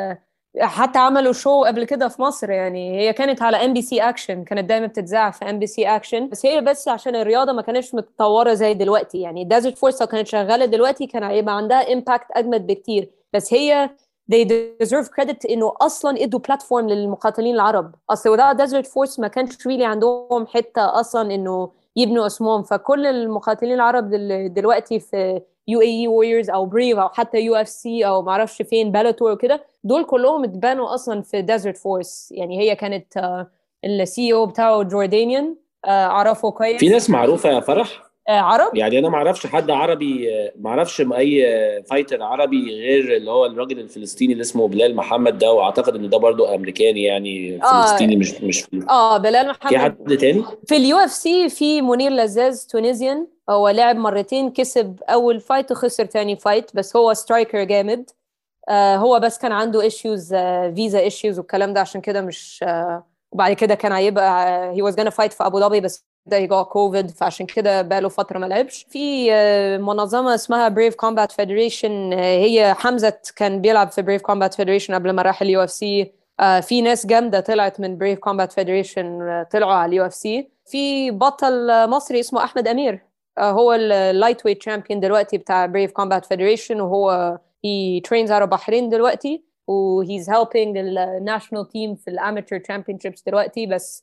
حتى عملوا شو قبل كده في مصر، يعني هي كانت على MBC اكشن، كانت دايما بتتذاع في MBC اكشن، بس هي بس عشان الرياضه ما كانتش متطوره زي دلوقتي. يعني ديزرت فورس لو كانت شغاله دلوقتي كان هيبقى عندها امباكت اجمد بكتير. بس هي they deserve credit انه اصلا ادوا بلاتفورم للمقاتلين العرب. اصل without ديزرت فورس ما كانش really عندهم حته اصلا انه يبنوا اسمهم. فكل المقاتلين العرب دلوقتي في UAE Warriors او بريف او حتى UFC او معرفش فين بلاتور وكده، دول كلهم اتبنوا اصلا في ديزرت فورس. يعني هي كانت الCEO بتاعه جوردانيان، اعرفه كويس. في ناس معروفه يا فرح عرب. يعني انا ما اعرفش حد عربي، ما اعرفش اي فايتر عربي غير اللي هو الراجل الفلسطيني اللي اسمه بلال محمد ده، واعتقد ان ده برضو امريكاني يعني فلسطيني مش بلال محمد. في حد تاني في UFC في منير لزاز تونيزيان، هو لعب مرتين، كسب اول فايت وخسر تاني فايت، بس هو سترايكر جامد. هو بس كان عنده ايشوز، فيزا ايشوز والكلام ده، عشان كده مش وبعد كده كان هيبقى he was gonna fight في ابو ظبي، بس ده جاء كوفيد، فعشان كده بقاله فتره ما لعبش. في منظمه اسمها بريف كومبات فيدريشن، هي حمزه كان بيلعب في بريف كومبات فيدريشن قبل ما راح UFC. في ناس جامده طلعت من بريف كومبات فيدريشن طلعوا على UFC. في بطل مصري اسمه احمد امير، هو اللايت ويت تشامبيون دلوقتي بتاع بريف كومبات فيدريشن، وهو he trains out of بحرين دلوقتي، و he's helping the national team في الamateur championships دلوقتي. بس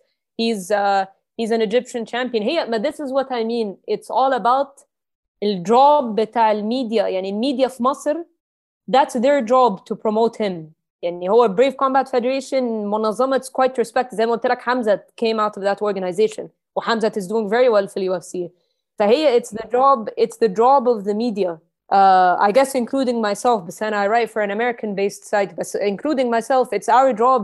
he's an Egyptian champion. هي this is what I mean. It's all about الجوب بتاع الميديا. يعني الميديا في مصر that's their job to promote him. يعني هو Brave Combat Federation منظمة quite respect. زي ما قلت لك حمزة came out of that organization، وحمزة is doing very well في UFC. فهي it's the job of the media. I guess including myself, but then I write for an American-based site, but including myself, it's our job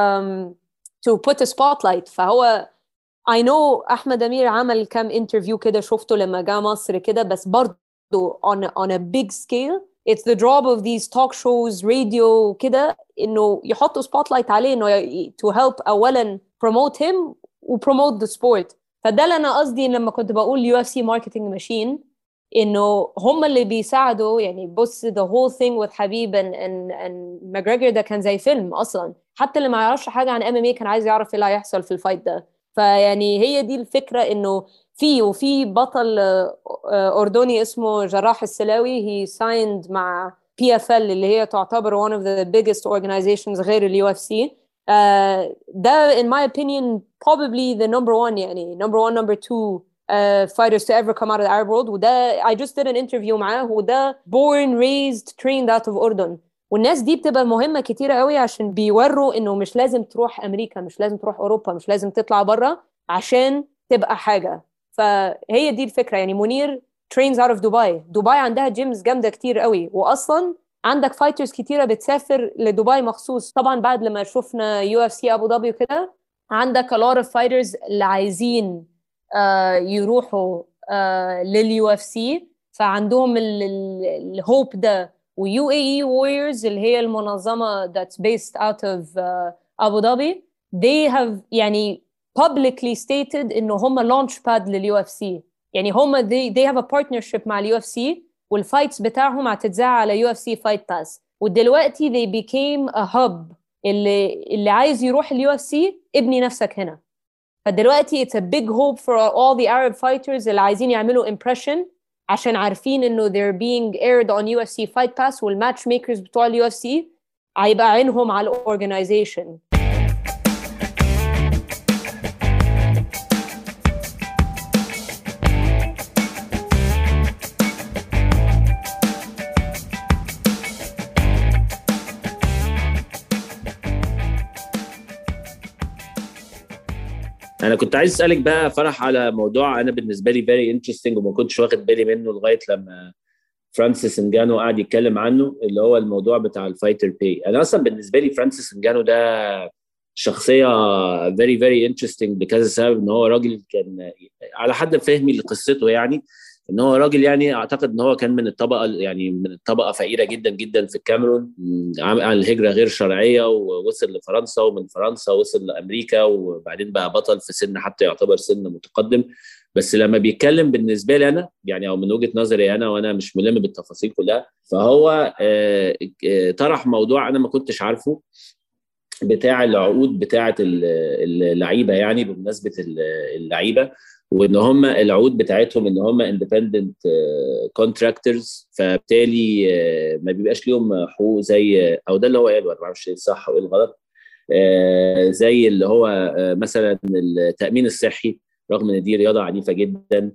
to put a spotlight. فهو I know أحمد أمير عمل كام interview كده شفته لما جاء مصر كده، بس برضو on a big scale it's the job of these talk shows radio كده إنه يحطوا spotlight عليه، إنه to help أولا promote him و promote the sport. فده اللي أنا قصدي لما كنت بقول UFC marketing machine، إنه هم اللي بيساعدوا. يعني بص the whole thing with حبيب and McGregor ده كان زي فيلم أصلا. حتى اللي ما يعرفش حاجة عن MMA كان عايز يعرف إيه اللي هيحصل في الفايت ده. فيعني هي دي الفكرة، إنه وفي بطل أردني اسمه جراح السلاوي he signed مع PFL اللي هي تعتبر one of the biggest organizations غير UFC. ده in my opinion probably the number one، يعني number one number two fighters to ever come out of the Arab world. وده I just did an interview معاه، وده born raised trained out of أردن. والناس دي بتبقى مهمة كتيرة قوي عشان بيوروا إنه مش لازم تروح أمريكا، مش لازم تروح أوروبا، مش لازم تطلع برا عشان تبقى حاجة. فهي دي الفكرة. يعني منير trains out of دبي عندها جيمز جامدة كتير قوي، وأصلا عندك فايترز كتيرة بتسافر لدبي مخصوص. طبعا بعد لما شفنا UFC أبو ظبي وكده، عندك a lot of fighters اللي عايزين يروحوا للUFC، فعندهم الهوب ده. UAE Warriors اللي هي المنظمة that's based out of أبو ظبي they have يعني publicly stated إنه هم launch pad للUFC. يعني هم they have a partnership مع الUFC، والفايتس بتاعهم هتتذاع على UFC Fight Pass. ودلوقتي they became a hub. اللي عايز يروح الUFC ابني نفسك هنا. فدلوقتي it's a big hope for all the Arab fighters اللي عايزين يعملوا impression، عشان عارفين إنه they're being aired on UFC Fight Pass، والmatch makers بتوع UFC هيبقى عينهم على الorganization. انا كنت عايز اسالك بقى فرح على موضوع انا بالنسبه لي فيري انترستنج وما كنتش واخد بالي منه لغايه لما فرانسيس انجانو قاعد يتكلم عنه، اللي هو الموضوع بتاع الفايتر باي. انا اصلا بالنسبه لي فرانسيس انجانو ده شخصيه فيري فيري انترستنج لكذا سبب. ان هو راجل كان على حد فهمي لقصته، يعني ان هو راجل يعني اعتقد ان هو كان من الطبقه، يعني من الطبقه فقيره جدا جدا في الكاميرون، عمل هجره غير شرعيه ووصل لفرنسا، ومن فرنسا وصل لامريكا، وبعدين بقى بطل في سن حتى يعتبر سن متقدم. بس لما بيتكلم بالنسبه لي انا يعني، او من وجهه نظري انا وانا مش ملم بالتفاصيل كلها، فهو طرح موضوع انا ما كنتش عارفه، بتاع العقود بتاعه اللعيبه، يعني بمناسبه اللعيبه، وان هم العقود بتاعتهم ان هم اندبندنت كونتراكتورز، فبالتالي ما بيبقاش ليهم حقوق زي، او ده اللي هو قاله، انا ما اعرفش ايه الصح وايه الغلط، زي اللي هو مثلا التامين الصحي، رغم ان دي رياضه عنيفه جدا،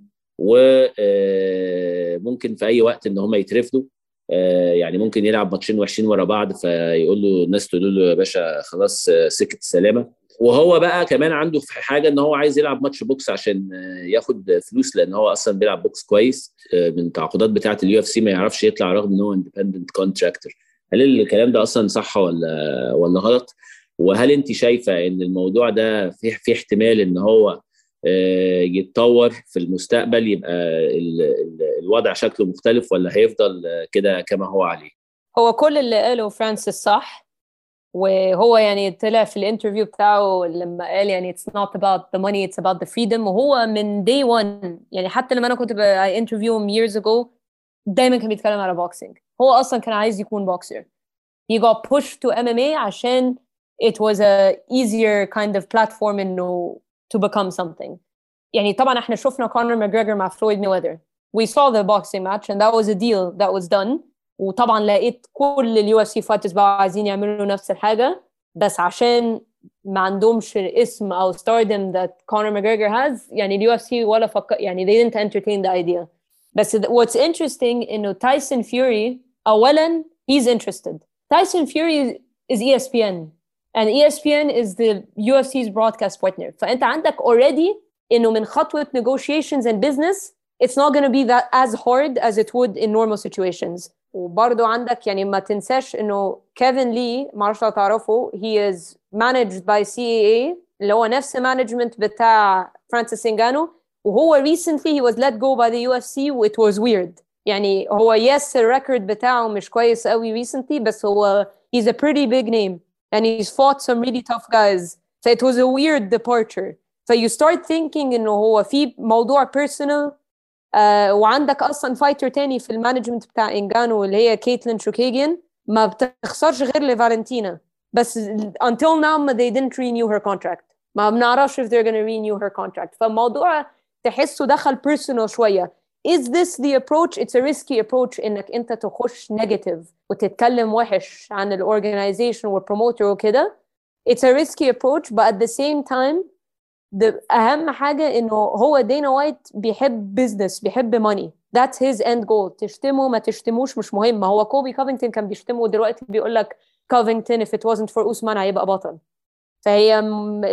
وممكن في اي وقت ان هم يترفدوا. يعني ممكن يلعب ماتشين وحشين ورا بعض، فيقول له الناس تقول له يا باشا خلاص سكة السلامة. وهو بقى كمان عنده في حاجة ان هو عايز يلعب ماتش بوكس عشان ياخد فلوس، لان هو اصلا بيلعب بوكس كويس. من التعاقدات بتاعة UFC ما يعرفش يطلع رغم ان هو اندبندنت كونتراكتور. هل الكلام ده اصلا صح ولا غلط؟ وهل انت شايفة ان الموضوع ده في احتمال ان هو يتطور في المستقبل، يبقى الوضع شكله مختلف، ولا هيفضل كده كما هو عليه؟ هو كل اللي قاله فرانسيس صح، وهو يعني طلع في الانترفيو بتاعه لما قال يعني it's not about the money, it's about the freedom. وهو من day one يعني، حتى لما انا كنت انترفيو years ago دايما كان بيتكلم على بوكسينج. هو اصلا كان عايز يكون بوكسر. he got pushed to MMA عشان it was a easier kind of platform انه to become something. يعني طبعا احنا شفنا كونر ماجريجر مع فلويد ميوذر. We saw the boxing match and that was a deal that was done. وطبعا لقيت كل اليو اف سي فايترز بقى عايزين يعملوا نفس الحاجة، بس عشان ما عندهمش اسم او stardom that Conor McGregor has، يعني اليو اف سي ولا يعني they didn't entertain the idea. بس what's interesting انه تايسون فيوري اولا he's interested. Tyson Fury is ESPN and ESPN is the UFC's broadcast partner. فأنت عندك already إنه من خطوة negotiations and business it's not going to be that as hard as it would in normal situations. وبرضو عندك يعني ما تنساش إنه كيفن لي، ما أعرفش لو تعرفه، he is managed by CAA اللي هو نفس management بتاع فرانسيس إنغانو. وهو recently he was let go by the UFC it was weird. يعني هو yes الريكورد بتاعه مش كويس قوي recently، بس هو he's a pretty big name and he's fought some really tough guys. So it was a weird departure. So you start thinking إنه هو في موضوع personal. وعندك أصلا فايتر تاني في المانجمنت بتاع إنغانو اللي هي كيتلين شوكيجيان، ما بتخسرش غير لفالنتينا، بس until now they didn't renew her contract. ما بنعرفش if they're gonna renew her contract. فالموضوع تحسه دخل personal شوية. Is this the approach? It's a risky approach إنك أنت تخش negative وتتكلم وحش عن الorganization والpromoter وكده. It's a risky approach, but at the same time أهم حاجة إنه هو دينا وايت بيحب business، بيحب money. That's his end goal. تشتمه ما تشتموش مش مهم. ما هو كوبي كوفينغتون كان بيشتمه ودلوقتي بيقول لك كوفينغتون if it wasn't for Usman هيبقى بطل. فهي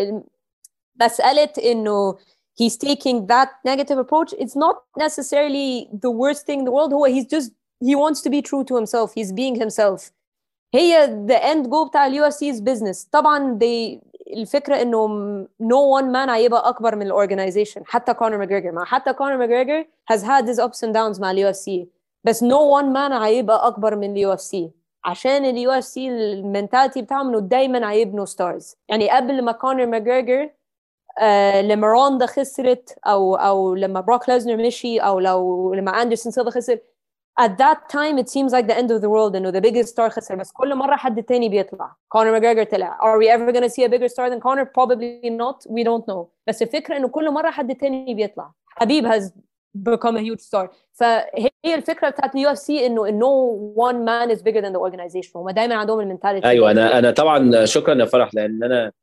مسألة إنه he's taking that negative approach. It's not necessarily the worst thing in the world. He wants to be true to himself. He's being himself. هي the end goal بتاع اليو اف سي is business. طبعا الفكرة انه no one man هيبقى اكبر من الاورجنايزيشن. حتى كونر ماجريجر، حتى كونر ماجريجر has had his ups and downs مع اليو اف سي، بس no one man هيبقى اكبر من اليو اف سي، عشان اليو اف سي المنتاليتي بتاعهم انه دايما هيبنوا ستارز. يعني قبل ما كونر ماجريجر لما روندا خسرت او لما بروك ليزنر مشي، او لما اندرسون سيلفا خسر، at that time it seems like the end of the world انه the biggest star خسر. بس كل مرة حد تاني بيطلع. كونر ماجريجر طلع. Are we ever going to see a bigger star than Conor? Probably not. We don't know. بس الفكرة انه كل مرة حد تاني بيطلع. حبيب has become a huge star. فهي الفكرة بتاعت اليو اف سي انه no one man is bigger than the organization. هم دايما عندهم المنتاليتي. ايوه، انا طبعا شكرا يا فرح، لان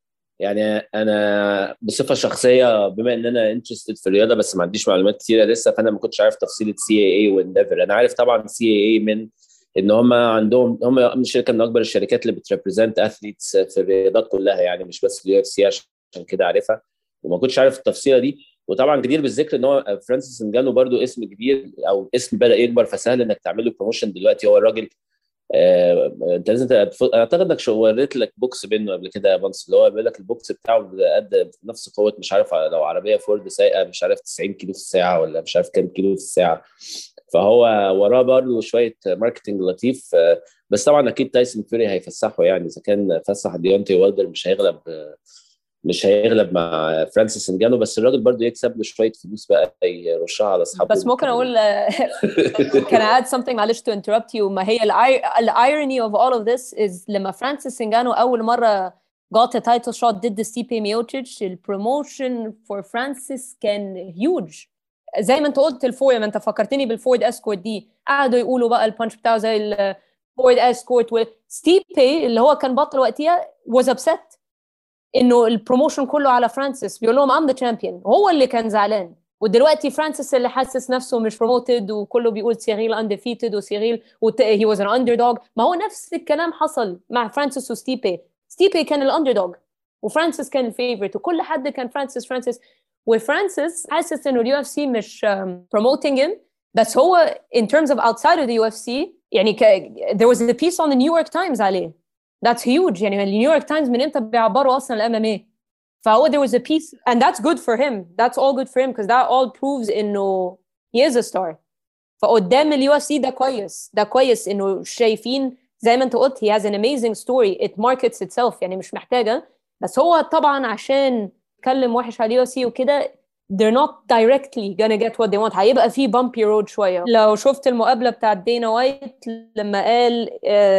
انا بصفه شخصيه بما ان انا انترستد في الرياضه بس ما عنديش معلومات كثيره لسه، فانا ما كنتش عارف تفصيله CAA وانديفر. انا عارف طبعا CAA من ان هم عندهم، هم من شركه من اكبر الشركات اللي بتريبريزنت اثليتس في الرياضات كلها، يعني مش بس اليو اف سي، عشان كده عارفها، وما كنتش عارف التفصيله دي. وطبعا جدير بالذكر ان هو فرانسيس انغانو برضو اسم كبير، او اسم بدا يكبر، فسهل انك تعمل له بروموشن دلوقتي. هو الراجل انت لازم اعتقد انك وريت لك بوكس منه قبل كده يا بانس، اللي هو بيقول لك البوكس بتاعه قد نفس قوه، مش عارف لو عربيه فورد سايقه مش عارف 90 كيلو في الساعه ولا مش عارف كام كيلو في الساعه. فهو وراه برضه شويه ماركتنج لطيف. بس طبعا اكيد تايسون فيوري هيفسحه، يعني اذا كان فسح ديونتي والدر مش هيغلب مش هيغلب مع فرانسيس انجانو، بس الراجل برضو يكسب له شويه فلوس بقى يرشها على اصحابه. بس ممكن اقول can I add something معلش to interrupt you. ما هي irony of all of this is لما فرانسيس انجانو اول مره got a title shot ضد ستيبي ميوتشيتش، البروموشن for فرانسيس كان huge. زي ما انت قلت الفورد، ما انت فكرتني بالفورد اسكورت دي، قعدوا يقولوا بقى البانش بتاعه زي الفورد اسكورت. وستيبي اللي هو كان بطل وقتها was upset انه البروموشن كله على فرانسيس، بيقول لهم I'm the champion، هو اللي كان زعلان. ودلوقتي فرانسيس اللي حاسس نفسه مش بروموتد، وكله بيقول سيريل undefeated وسيريل he was an underdog. ما هو نفس الكلام حصل مع فرانسيس وستيبي. ستيبي كان الاندردوج وفرانسيس كان الفيفورت، وكل حد كان فرانسيس. وفرانسيس حاسس انه اليو اف سي مش promoting him، بس هو in terms of outside of the UFC يعني there was a piece on the New York Times عليه. That's huge. يعني النيويورك تايمز من امتى بيعبروا اصلا الام ام اي؟ فهو there was a piece and that's good for him. That's all good for him because that all proves انه he is a star. فقدام اليو اف سي ده كويس، ده كويس انه شايفين زي ما انت قلت he has an amazing story, it markets itself. يعني مش محتاجه. بس هو طبعا عشان يتكلم وحش على اليو اف سي وكده they're not directly gonna get what they want. هيبقى في bumpy road شويه. لو شفت المقابله بتاعت دينا وايت لما قال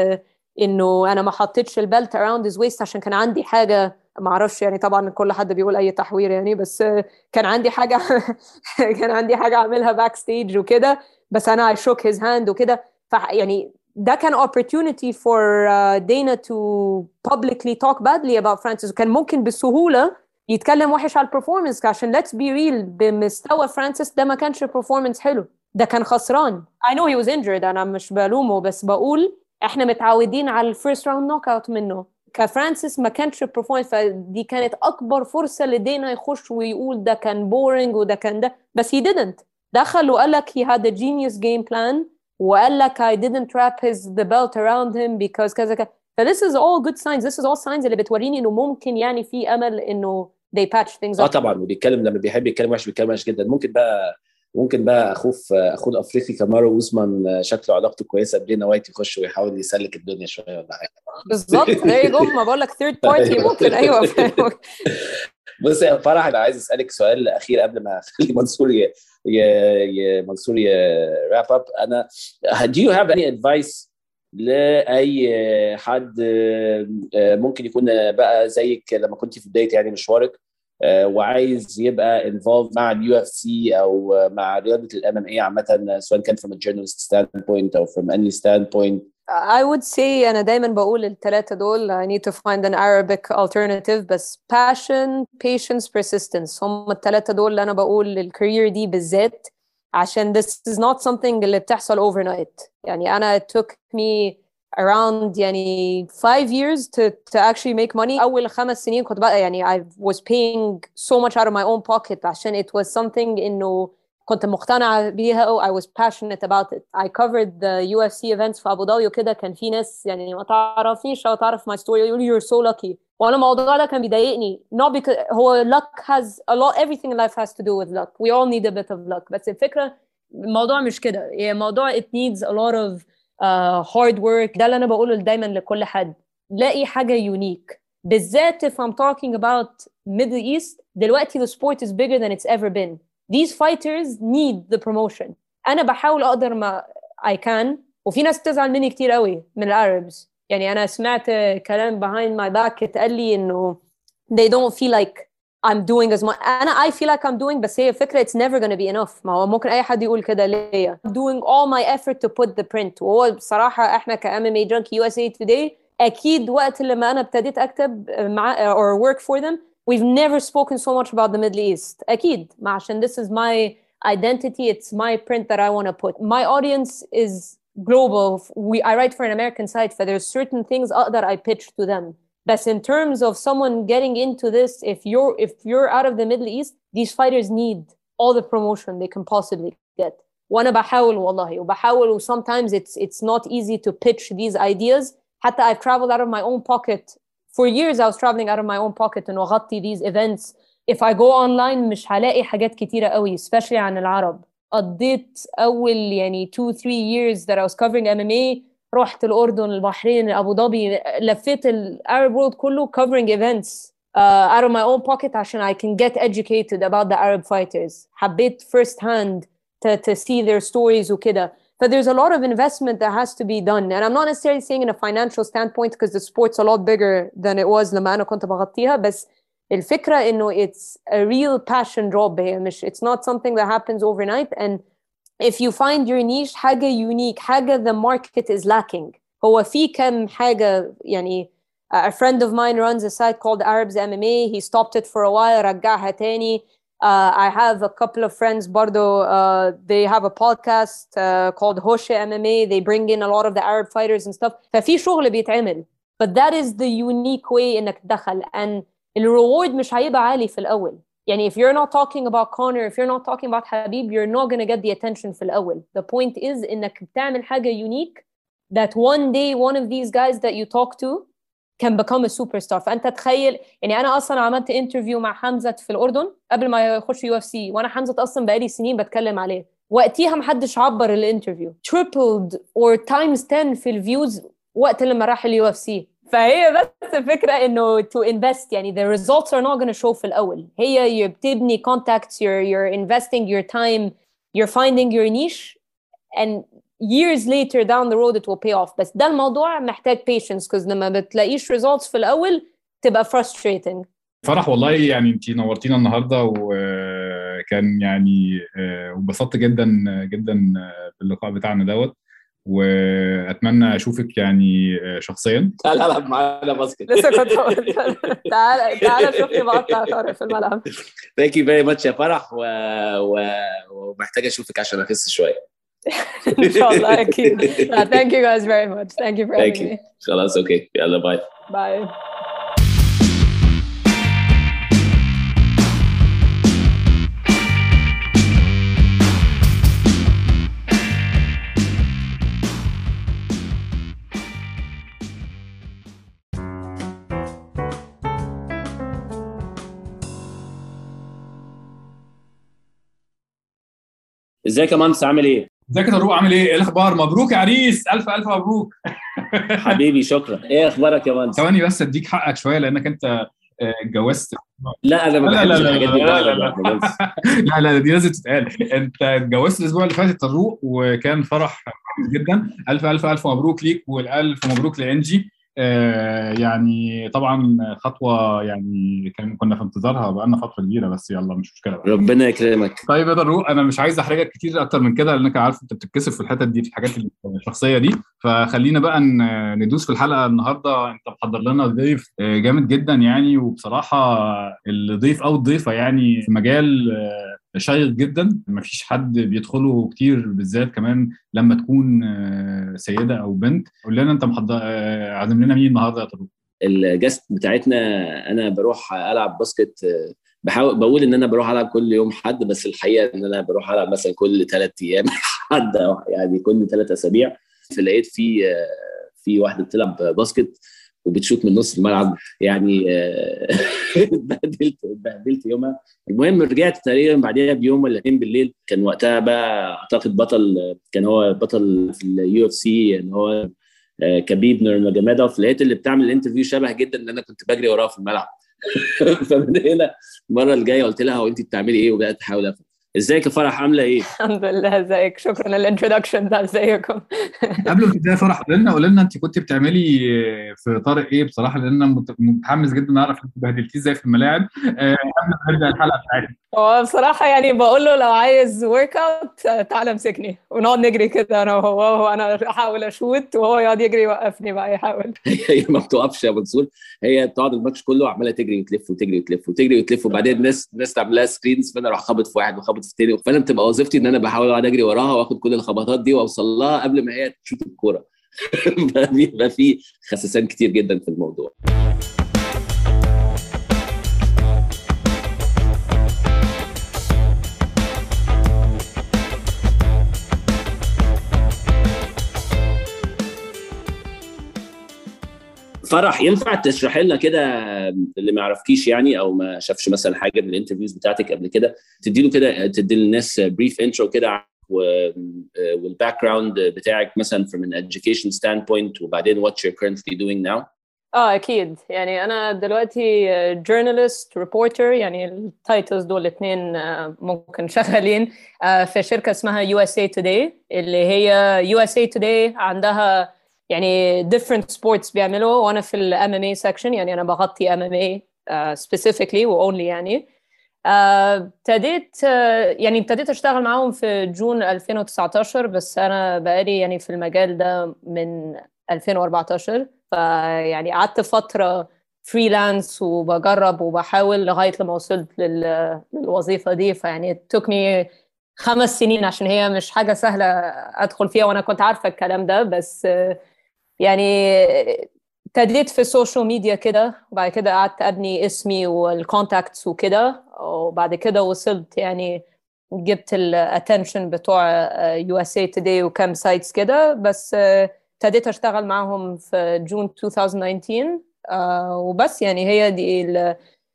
انه انا ما حطيتش البلت around his waist عشان كان عندي حاجه، ما اعرفش يعني طبعا كل حد بيقول اي تحوير يعني، بس كان عندي حاجه كان عندي حاجه اعملها باك ستيج وكده، بس انا I shook his hand وكده. يعني ده كان opportunity for Dana to publicly talk badly about Francis. وكان ممكن بسهوله يتكلم وحش على البرفورمانس، عشان let's be real بمستوى فرانسيس ده ما كانش performance حلو، ده كان خسران. I know he was injured، انا مش بلومه، بس بقول احنا متعودين على الفيرست راوند نوك اوت منه. كفرانسيس ما كانش performance، فدي كانت اكبر فرصه لدينا يخش ويقول ده كان بورينج وده كان ده، بس he didn't. دخل وقال لك he had a genius game plan، وقال لك I didn't wrap the belt around him because كذا كذا. ف this is all good signs. This is all signs اللي بتوريني انه ممكن يعني في امل انه they patch things up. طبعا. وبيتكلم لما بيحب يتكلم وحش بيتكلم وحش جدا. ممكن بقى اخوه الافريقي كامارو اوزمان شكله علاقته كويسه بدينا وايت يخش ويحاول يسلك الدنيا شويه ولا حاجه. بالظبط زي ما بقول لك ثيرد بارتي ممكن. ايوه بص يا فرح، انا عايز اسالك سؤال اخير قبل ما اخلي منصور راب اب. انا do you have any advice لاي حد ممكن يكون بقى زيك لما كنت في بدايه يعني مشوارك وعايز يبقى involved مع اليو اف سي او مع رياضه الام ام اي عامه، سواء كان from a journalist standpoint او from any standpoint؟ I would say أنا دايما بقول الثلاثة دول I need to find an Arabic alternative، بس passion, patience, persistence هم الثلاثة دول اللي أنا بقول الكارير دي بالذات، عشان this is not something اللي بتحصل overnight. يعني أنا it took me around يعني 5 years to actually make money. أول 5 سنين كنت بقى يعني I was paying so much out of my own pocket عشان it was something إنه كنت مقتنعة بيها. I was passionate about it. I covered the UFC events في أبو ظبي وكده، كان في ناس يعني ما تعرفنيش أو تعرف my story يقولوا you're so lucky، وأنا الموضوع ده كان بيضايقني. not because هو luck has a lot, everything in life has to do with luck. We all need a bit of luck. بس الفكرة الموضوع مش كده، يعني الموضوع it needs a lot of hard work. ده اللي أنا بقوله دايما لكل حد، لاقي حاجة unique، بالذات if I'm talking about Middle East. دلوقتي the sport is bigger than it's ever been. These fighters need the promotion. أنا بحاول أقدر ما I can، وفي ناس تزعل مني كتير قوي من العربs. يعني أنا سمعت كلام behind my back اتقال لي إنه they don't feel like I'm doing as much. I feel like I'm doing، بس هي فكرة it's never gonna be enough. ما هو ممكن أي حد يقول كده ليا. I'm doing all my effort to put the print. وهو بصراحة إحنا كMMA Junkie USA Today أكيد وقت لما أنا ابتديت أكتب مع or work for them we've never spoken so much about the Middle East. أكيد عشان this is my identity, it's my print that I want to put. My audience is global. I write for an American site, so there's certain things that I pitch to them. But in terms of someone getting into this, if you're out of the Middle East, these fighters need all the promotion they can possibly get. وأنا بحاول والله وبحاول. Sometimes it's not easy to pitch these ideas. حتى I've traveled out of my own pocket. For years I was traveling out of my own pocket and أغطي these events. If I go online مش هلاقي حاجات كتيرة قوي especially عن العرب. قضيت أول يعني 2-3 years that I was covering MMA. رحت الأردن، البحرين، أبو ظبي، لفيت العرب world كله covering events out of my own pocket عشان I can get educated about the Arab fighters. حبيت first hand to see their stories وكده. But there's a lot of investment that has to be done. And I'm not necessarily saying in a financial standpoint because the sport's a lot bigger than it was لما أنا كنت بغطيها. بس الفكرة إنه it's a real passion job هي مش it's not something that happens overnight. And if you find your niche حاجة unique, حاجة the market is lacking. هو في كم حاجة يعني a friend of mine runs a site called Arabs MMA. He stopped it for a while, رجعها تاني. I have a couple of friends برضو, they have a podcast called Hoshe MMA. They bring in a lot of the Arab fighters and stuff. ففي شغل بيتعمل. But that is the unique way إنك تدخل. And الرeward مش هيبقى عالي في الأول. يعني if you're not talking about Conor, if you're not talking about Khabib, you're not going to get the attention في الأول. The point is إنك بتعمل حاجة unique that one day one of these guys that you talk to can become a superstar. فأنت تخيل يعني أنا أصلا عملت انترفيو مع حمزة في الأردن قبل ما يخش UFC, وأنا حمزة أصلا بقالي سنين بتكلم عليه. وقتها محدش عبر الانترفيو. Tripled or times 10 في الفيوز وقت لما راح UFC. فهي بس الفكرة إنه to invest يعني the results are not going to show في الأول. هي بتبني contacts, you're investing your time, you're finding your niche, and years later down the road it will pay off. بس ده الموضوع محتاج patience because لما بتلاقيش results في الأول تبقى frustrating. فرح والله يعني انتي نورتينا النهارده وكان يعني وبسطت جدا جدا باللقاء بتاعنا دوت, واتمنى اشوفك يعني شخصيا. تعال العب معانا باسكت. لسه كنت تعال شوفني بقطع طارق في الملعب. Thank you very much يا فرح, ومحتاج اشوفك عشان اخس شويه. ان شاء الله اكيد. Thank you guys very much. Thank you for having me. خلاص اوكي, يلا باي. باي. ازيك يا مهندس, عامل ايه؟ ازيك يا طارق, عامل ايه؟ ايه الاخبار؟ مبروك يا عريس, الف الف مبروك. حبيبي شكرا. ايه اخبارك يا مهندس؟ ثواني بس اديك حقك شويه لانك انت اتجوزت. لا انا ما بحبش الحاجات دي. لا دي لازم تتقال. انت اتجوزت الاسبوع اللي فات طارق, وكان فرح جدا. الف الف الف مبروك ليك, والالف مبروك لانجي. يعني طبعا خطوه يعني كنا في انتظارها بقالنا فتره كبيره, بس يلا مش مشكله بقى. ربنا يكرمك. طيب يا طارق, انا مش عايز احرجك كتير اكتر من كده لانك عارف انت بتتكسف في الحتت دي, في الحاجات الشخصيه دي. فخلينا بقى ندوس في الحلقه النهارده. انت محضر لنا ضيف جامد جدا يعني, وبصراحه الضيف او الضيفه يعني في مجال شيق جدا مفيش حد بيدخله كتير, بالذات كمان لما تكون سيده او بنت. قول لنا انت عازم لنا مين النهارده يا طارق؟ الجست بتاعتنا انا بروح العب باسكت, بقول ان انا بروح العب كل يوم حد, بس الحقيقه ان انا بروح العب مثلا كل 3 ايام حد, يعني كل 3 اسابيع. فلقيت في واحده بتلعب باسكت وبتشوت من نص الملعب يعني. اتبهدلت يومها. المهم رجعت تقريبا بعدها بيوم ولا 2 بالليل. كان وقتها بقى اعتقد كان هو بطل في UFC ان هو كبيب نورماجومedov. لقيت اللي بتعمل الانترفيو شبه جدا اللي انا كنت بجري وراه في الملعب. فمن هنا المره الجايه قلت لها هو انت بتعملي ايه, وبقيت احاول افهم. ازيك يا فرح, عامله ايه؟ الحمد لله. ازيك؟ شكرا للانترودكشن ده. ازيكم؟ قبل ما تبداي فرح, قول لنا انت كنت بتعملي في طارق ايه بصراحه, لان انا متحمس جدا نعرف انت بهدلتيه ازاي في الملاعب قبل ما نبدا الحلقه بتاعتنا. هو بصراحه يعني بقول له لو عايز ورك اوت تعالى امسكني ونقعد نجري كده انا وهو, وانا احاول اشوت وهو يقعد يجري يوقفني بقى يحاول. هي ما بتوقفش يا منصور, هي بتقعد الماتش كله عماله تجري وتلف وتجري وتلف وتجري وتلف, وبعدين الناس تعمل لها سكرينز, فانا اروح خابط في واحد وخابط في الثاني. فانا بتبقى وظيفتي ان انا بحاول اقعد اجري وراها واخد كل الخبطات دي واوصل لها قبل ما هي تشوت الكوره. بيبقى في خسسان كتير جدا في الموضوع. فرح, ينفع تشرح لنا كده اللي ما يعرفكيش يعني او ما شافش مثلا حاجه من الانترفيوز بتاعتك قبل كده, تدي للناس بريف انترو كده والباك جراوند بتاعك مثلا from an education standpoint, وبعدين what you're currently doing now. اكيد. يعني انا دلوقتي جورنالست ريبورتر، يعني التايتلز دول الاثنين ممكن شغالين في شركه اسمها USA Today، اللي هي USA Today عندها يعني different sports بيعملوا، وانا في ال MMA section، يعني انا بغطي MMA specifically و only يعني. ابتديت اشتغل معاهم في جون 2019، بس انا بقالي يعني في المجال ده من 2014. فيعني قعدت فترة فريلانس وبجرب وبحاول لغاية لما وصلت للوظيفة دي. فيعني it took me 5 سنين عشان هي مش حاجة سهلة أدخل فيها، وأنا كنت عارفة الكلام ده. بس يعني ابتديت في السوشيال ميديا كده، وبعد كده قعدت أبني اسمي والكونتاكتس وكده، وبعد كده وصلت يعني جبت الاتنشن بتوع USA Today وكام سايتس كده. بس ابتديت اشتغل معهم في جون 2019 وبس. يعني هي دي ال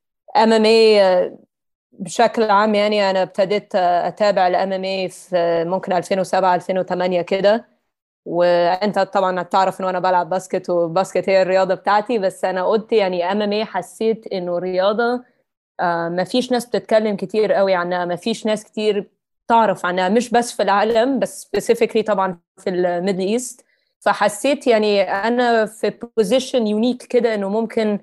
MMA بشكل عام. يعني انا ابتديت اتابع ال MMA في ممكن 2007 2008 كده. وانت طبعا تعرف ان انا بلعب باسكت، وباسكت هي الرياضه بتاعتي. بس انا قلت يعني MMA حسيت انه رياضه ما فيش ناس بتتكلم كتير قوي عنها، ما فيش ناس كتير تعرف عنها، مش بس في العالم بس specifically طبعا في الميدل ايست. فحسيت يعني انا في بوزيشن يونيك كده انه ممكن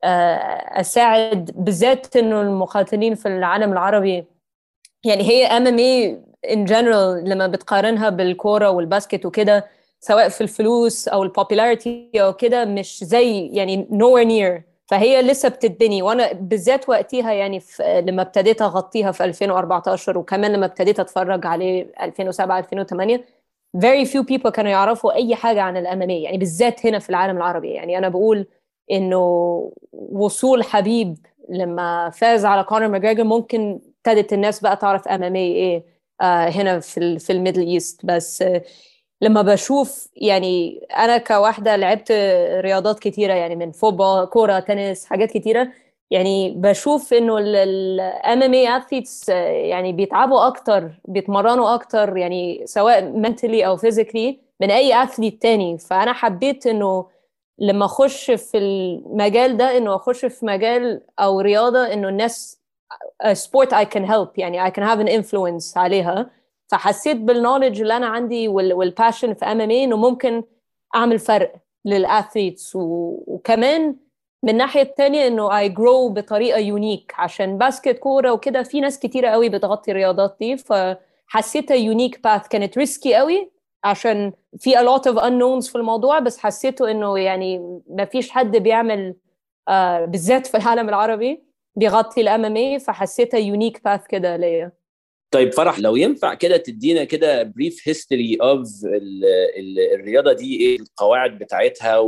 اساعد، بالذات انه المقاتلين في العالم العربي. يعني هي MMA in general لما بتقارنها بالكورة والباسكت وكده، سواء في الفلوس او البوبولاريتي او كده، مش زي يعني nowhere near. فهي لسه بتتبني. وانا بالذات وقتها يعني لما ابتديت اغطيها في 2014، وكمان لما ابتديت اتفرج عليه 2007 2008، very few people كانوا يعرفوا اي حاجة عن الام ام اي، يعني بالذات هنا في العالم العربي. يعني انا بقول انه وصول حبيب لما فاز على كونر ماجريجر ممكن ابتدت الناس بقى تعرف ام ام ايه هنا في الميدل ايست. بس لما بشوف يعني انا كواحده لعبت رياضات كتيره، يعني من فوتبول، كوره، تنس، حاجات كتيره. يعني بشوف انه الام ام اي اثليتس يعني بيتعبوا اكتر، بيتمرنوا اكتر، يعني سواء mentally او physically من اي اثليت تاني. فانا حبيت انه لما اخش في المجال ده، انه اخش في مجال او رياضه انه الناس sport I can help، يعني I can have an influence عليها. فحسيت بالنولج اللي أنا عندي والباشن في MMA إنه ممكن أعمل فرق للأثليتس. وكمان من الناحية التانية إنه I grow بطريقة يونيك، عشان باسكت، كورة وكده في ناس كتيرة قوي بتغطي الرياضات دي. فحسيتها يونيك باث، كانت ريسكي قوي عشان في a lot of unknowns في الموضوع. بس حسيته إنه يعني ما فيش حد بيعمل بالذات في العالم العربي بيغطي الام ام اي. فحسيتها يونيك باث كده ليا. طيب فرح، لو ينفع كده تدينا كده بريف هيستوري اوف الرياضه دي، ايه القواعد بتاعتها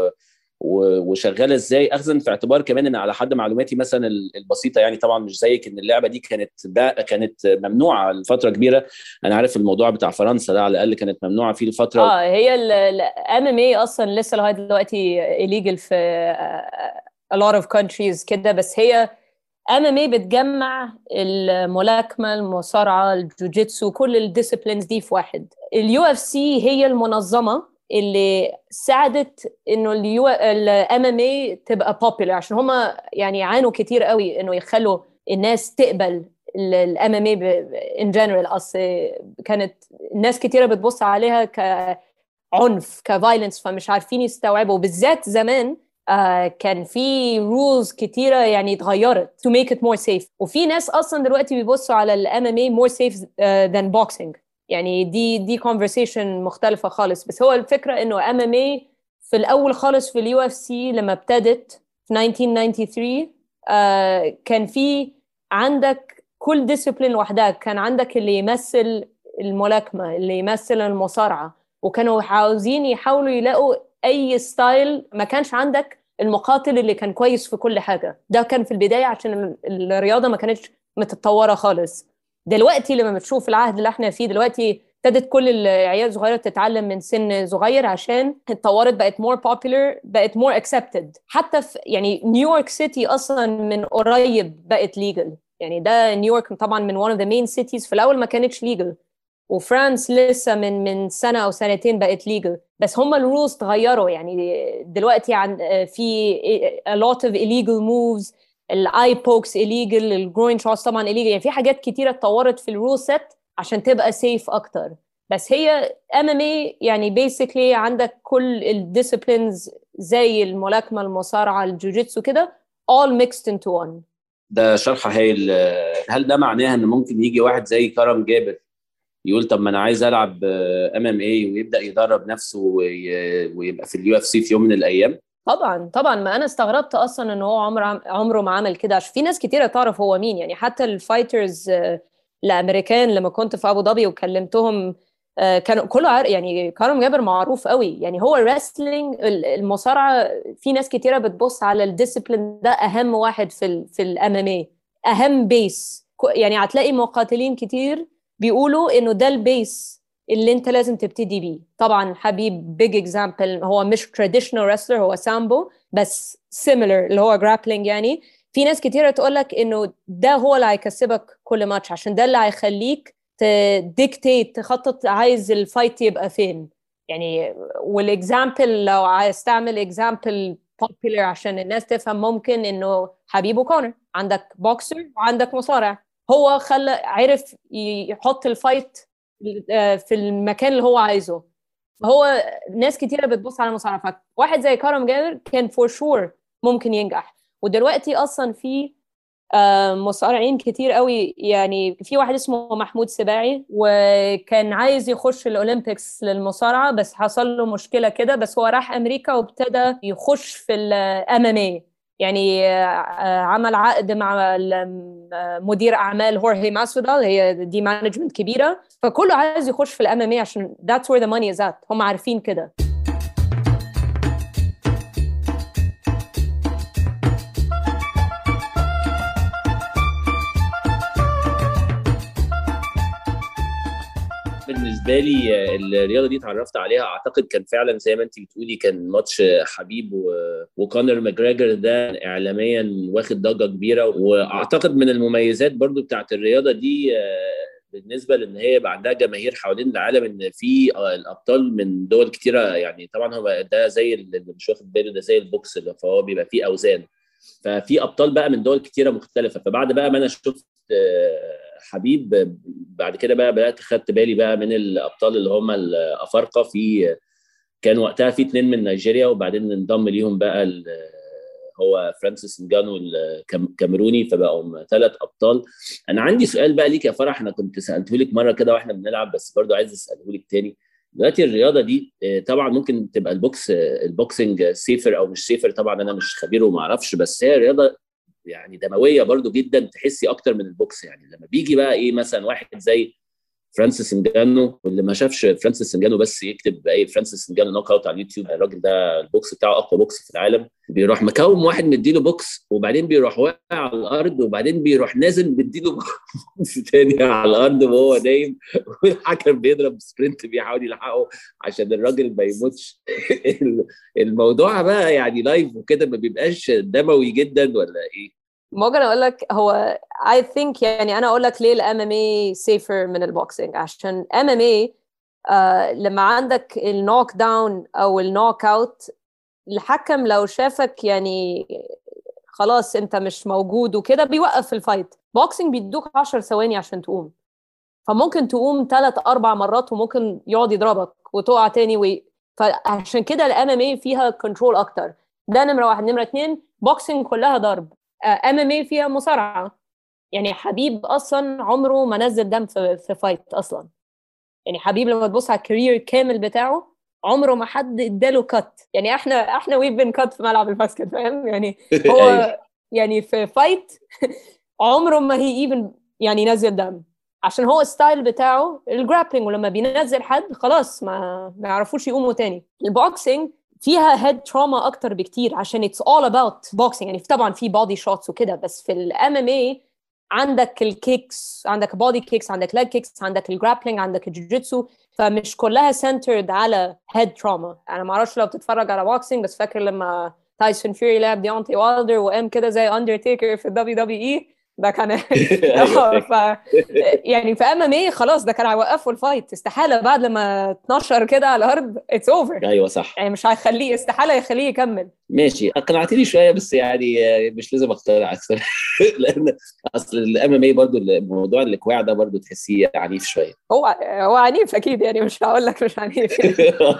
وشغاله ازاي، اخذا في اعتبار كمان ان على حد معلوماتي مثلا البسيطه، يعني طبعا مش زيك، ان اللعبه دي كانت ممنوعه لفتره كبيره. انا عارف الموضوع بتاع فرنسا ده على الاقل كانت ممنوعه فيه لفتره. هي الام ام اي اصلا لسه لغايه دلوقتي illegal في a lot of countries كده. بس هي MMA بتجمع الملاكمة، المصارعة، الجوجيتسو، كل الديسيبلينز دي في واحد. UFC هي المنظمة اللي ساعدت انه الام ام اي تبقى popular، عشان هما يعني عانوا كتير قوي انه يخلوا الناس تقبل الام ام اي ان جنرال. اصل كانت الناس كتيرة بتبص عليها كعنف، كفايلنس، فمش عارفين يستوعبوا. بالذات زمان كان في rules كتيرة يعني اتغيرت to make it more safe. وفي ناس أصلا دلوقتي بيبصوا على ال MMA more safe than boxing. يعني دي conversation مختلفة خالص. بس هو الفكرة إنه MMA في الأول خالص في ال UFC لما ابتدت في 1993 كان في عندك كل discipline لوحدها. كان عندك اللي يمثل الملاكمة، اللي يمثل المصارعة، وكانوا عاوزين يحاولوا يلاقوا اي ستايل. ما كانش عندك المقاتل اللي كان كويس في كل حاجه. ده كان في البدايه عشان الرياضه ما كانتش متطوره خالص. دلوقتي لما بتشوف العهد اللي احنا فيه دلوقتي، ابتدت كل العيال الصغيره تتعلم من سن صغير، عشان اتطورت، بقت more popular، بقت more accepted. حتى في يعني نيويورك سيتي اصلا من قريب بقت legal. يعني ده نيويورك طبعا من one of the main cities، في الاول ما كانتش legal. وفرانس لسه من سنة أو سنتين بقت legal. بس هم الرولز تغيروا يعني دلوقتي في a lot of illegal moves. الاي بوكس illegal, الجروين شوتس طبعا illegal. يعني في حاجات كتيرة اتطورت في الرول سيت عشان تبقى safe أكتر. بس هي MMA يعني basically عندك كل الديسيبلينز زي الملاكمة, المصارعة, الجوجيتسو كده all mixed into one. ده شرح هايل. هل ده معناه ان ممكن يجي واحد زي كرم جابر يقول طب ما انا عايز العب MMA ويبدا يدرب نفسه ويبقى في UFC في يوم من الايام؟ طبعا ما انا استغربت اصلا ان هو عمره ما عمل كده, عشان في ناس كتيره تعرف هو مين. يعني حتى الفايترز الامريكان لما كنت في ابو ظبي وكلمتهم كانوا كله يعني كرم جابر معروف قوي. يعني هو الرسلينج, المصارعه, في ناس كتيره بتبص على الديسيبلين ده اهم واحد في الام ام اي, اهم بيس. يعني هتلاقي مقاتلين كتير بيقولوا انه ده البيس اللي انت لازم تبتدي بيه. طبعا حبيب بيج اكزامبل, هو مش تراديشنال رسلر, هو سامبو بس سيميلر اللي هو جرابلينج. يعني في ناس كتيرة تقولك انه ده هو اللي هيكسبك كل ماتش, عشان ده اللي هيخليك تديكتيت, تخطط عايز الفايت يبقى فين. يعني والاكزامبل لو عايز تعمل اكزامبل popular عشان الناس تفهم, ممكن انه حبيب وكونر, عندك بوكسر وعندك مصارع, هو عرف يحط الفايت في المكان اللي هو عايزه. هو ناس كتيرة بتبص على المصارعة, واحد زي كرم جابر كان فور شور ممكن ينجح. ودلوقتي اصلا في مصارعين كتير قوي. يعني في واحد اسمه محمود سباعي وكان عايز يخش الأولمبيكس للمصارعة, بس حصل له مشكلة كده, بس هو راح أمريكا وابتدى يخش في الام ام اي. يعني عمل عقد مع مدير أعمال هورهي ماسودال, هي دي مانجمنت كبيرة, فكله عايز يخش في الام ام اي عشان that's where the money is at. هم عارفين كده. بالنسبه لي الرياضه دي اتعرفت عليها اعتقد كان فعلا زي ما انت بتقولي, كان ماتش حبيب وكونر ماجريجر ده اعلاميا واخد ضجه كبيره. واعتقد من المميزات برضو بتاعت الرياضه دي بالنسبه لان هي يبقى عندها جماهير حوالين العالم, ان في الابطال من دول كتيره. يعني طبعا هو ده زي اللي مش واخد باله, ده زي البوكس اللي فهو بيبقى فيه اوزان, ففي ابطال بقى من دول كتيره مختلفه. فبعد بقى ما انا شفت حبيب, بعد كده بقى بدات خدت بالي بقى من الابطال اللي هم الافارقه. كان وقتها في 2 من نيجيريا, وبعدين انضم ليهم بقى هو فرانسيس نجانو الكاميروني, فبقوا 3 ابطال. انا عندي سؤال بقى ليك يا فرح, انا كنت سالته لك مره كده واحنا بنلعب, بس برضو عايز اساله لك تاني. دلوقتي الرياضه دي طبعا ممكن تبقى البوكسنج سيفر او مش سيفر, طبعا انا مش خبير وما اعرفش, بس هي رياضه يعني دمويه برضو جدا, تحسي اكتر من البوكس. يعني لما بيجي بقى ايه مثلا واحد زي فرانسيس نجانو, واللي ما شافش فرانسيس نجانو بس يكتب اي فرانسيس نجانو نوك اوت على اليوتيوب, الراجل ده البوكس بتاعه اقوى بوكس في العالم. بيروح مكوم واحد مديله بوكس, وبعدين بيروح واقع على الارض, وبعدين بيروح نازل مديله بوكس تاني على الارض وهو نايم, والحكم بيضرب سبرنت بيحاول يلحقه عشان الراجل ما يموتش. الموضوع بقى يعني لايف وكده, ما بيبقاش دموي جدا ولا ايه؟ ممكن اقول لك, هو I think يعني انا اقول لك ليه الام ام اي سيفر من البوكسينج. عشان ام ام اي لما عندك النوك داون او النوك اوت, الحكم لو شافك يعني خلاص انت مش موجود وكده بيوقف الفايت. بوكسينج بيدوك 10 ثواني عشان تقوم, فممكن تقوم 3-4 مرات وممكن يقعد يضربك وتقع تاني فعشان كده الام ام اي فيها كنترول اكتر. ده نمرة 1. نمرة 2, بوكسينج كلها ضرب. ام ام اي فيها مصارعة. يعني حبيب اصلا عمره ما نزل دم في فايت اصلا. يعني حبيب لما تبص على الكارير كامل بتاعه عمره ما حد اداله كات. يعني احنا ويف بين كات في ملعب الباسكت, فاهم يعني. هو يعني في فايت عمره ما هي ايفن يعني نزل دم, عشان هو ستايل بتاعه الجرابلينج, ولما بينزل حد خلاص ما يعرفوش يقوموا تاني. البوكسينج فيها هيد تروما اكتر بكتير, عشان it's all about boxing. يعني طبعا في بودي شوتس وكده, بس في الام ام اي عندك الكيكس, عندك بودي كيكس, عندك لاج كيكس, عندك الجرابلينج, عندك الجوجيتسو, فمش كلها سنترد على هيد تروما. انا ما اعرفش لو بتتفرج على بوكسينج, بس فاكر لما تايسون فيوري لعب ديونتي والدر وقام كده زي اندرتيكر في الدبليو دبليو اي, ده كان ايوه يعني في MMA خلاص ده كان هيوقفوا الفايت، استحالة بعد لما 12 كده على الارض اتس اوفر. ايوه صح. يعني مش هيخليه، استحالة يخليه يكمل. ماشي اقنعتني شويه، بس يعني مش لازم اقتنع اكثر. لان اصل الام ام اي برضه الموضوع الاكواع ده برضه تحسيه عنيف شويه. هو عنيف اكيد، يعني مش هقول لك مش عنيف يعني.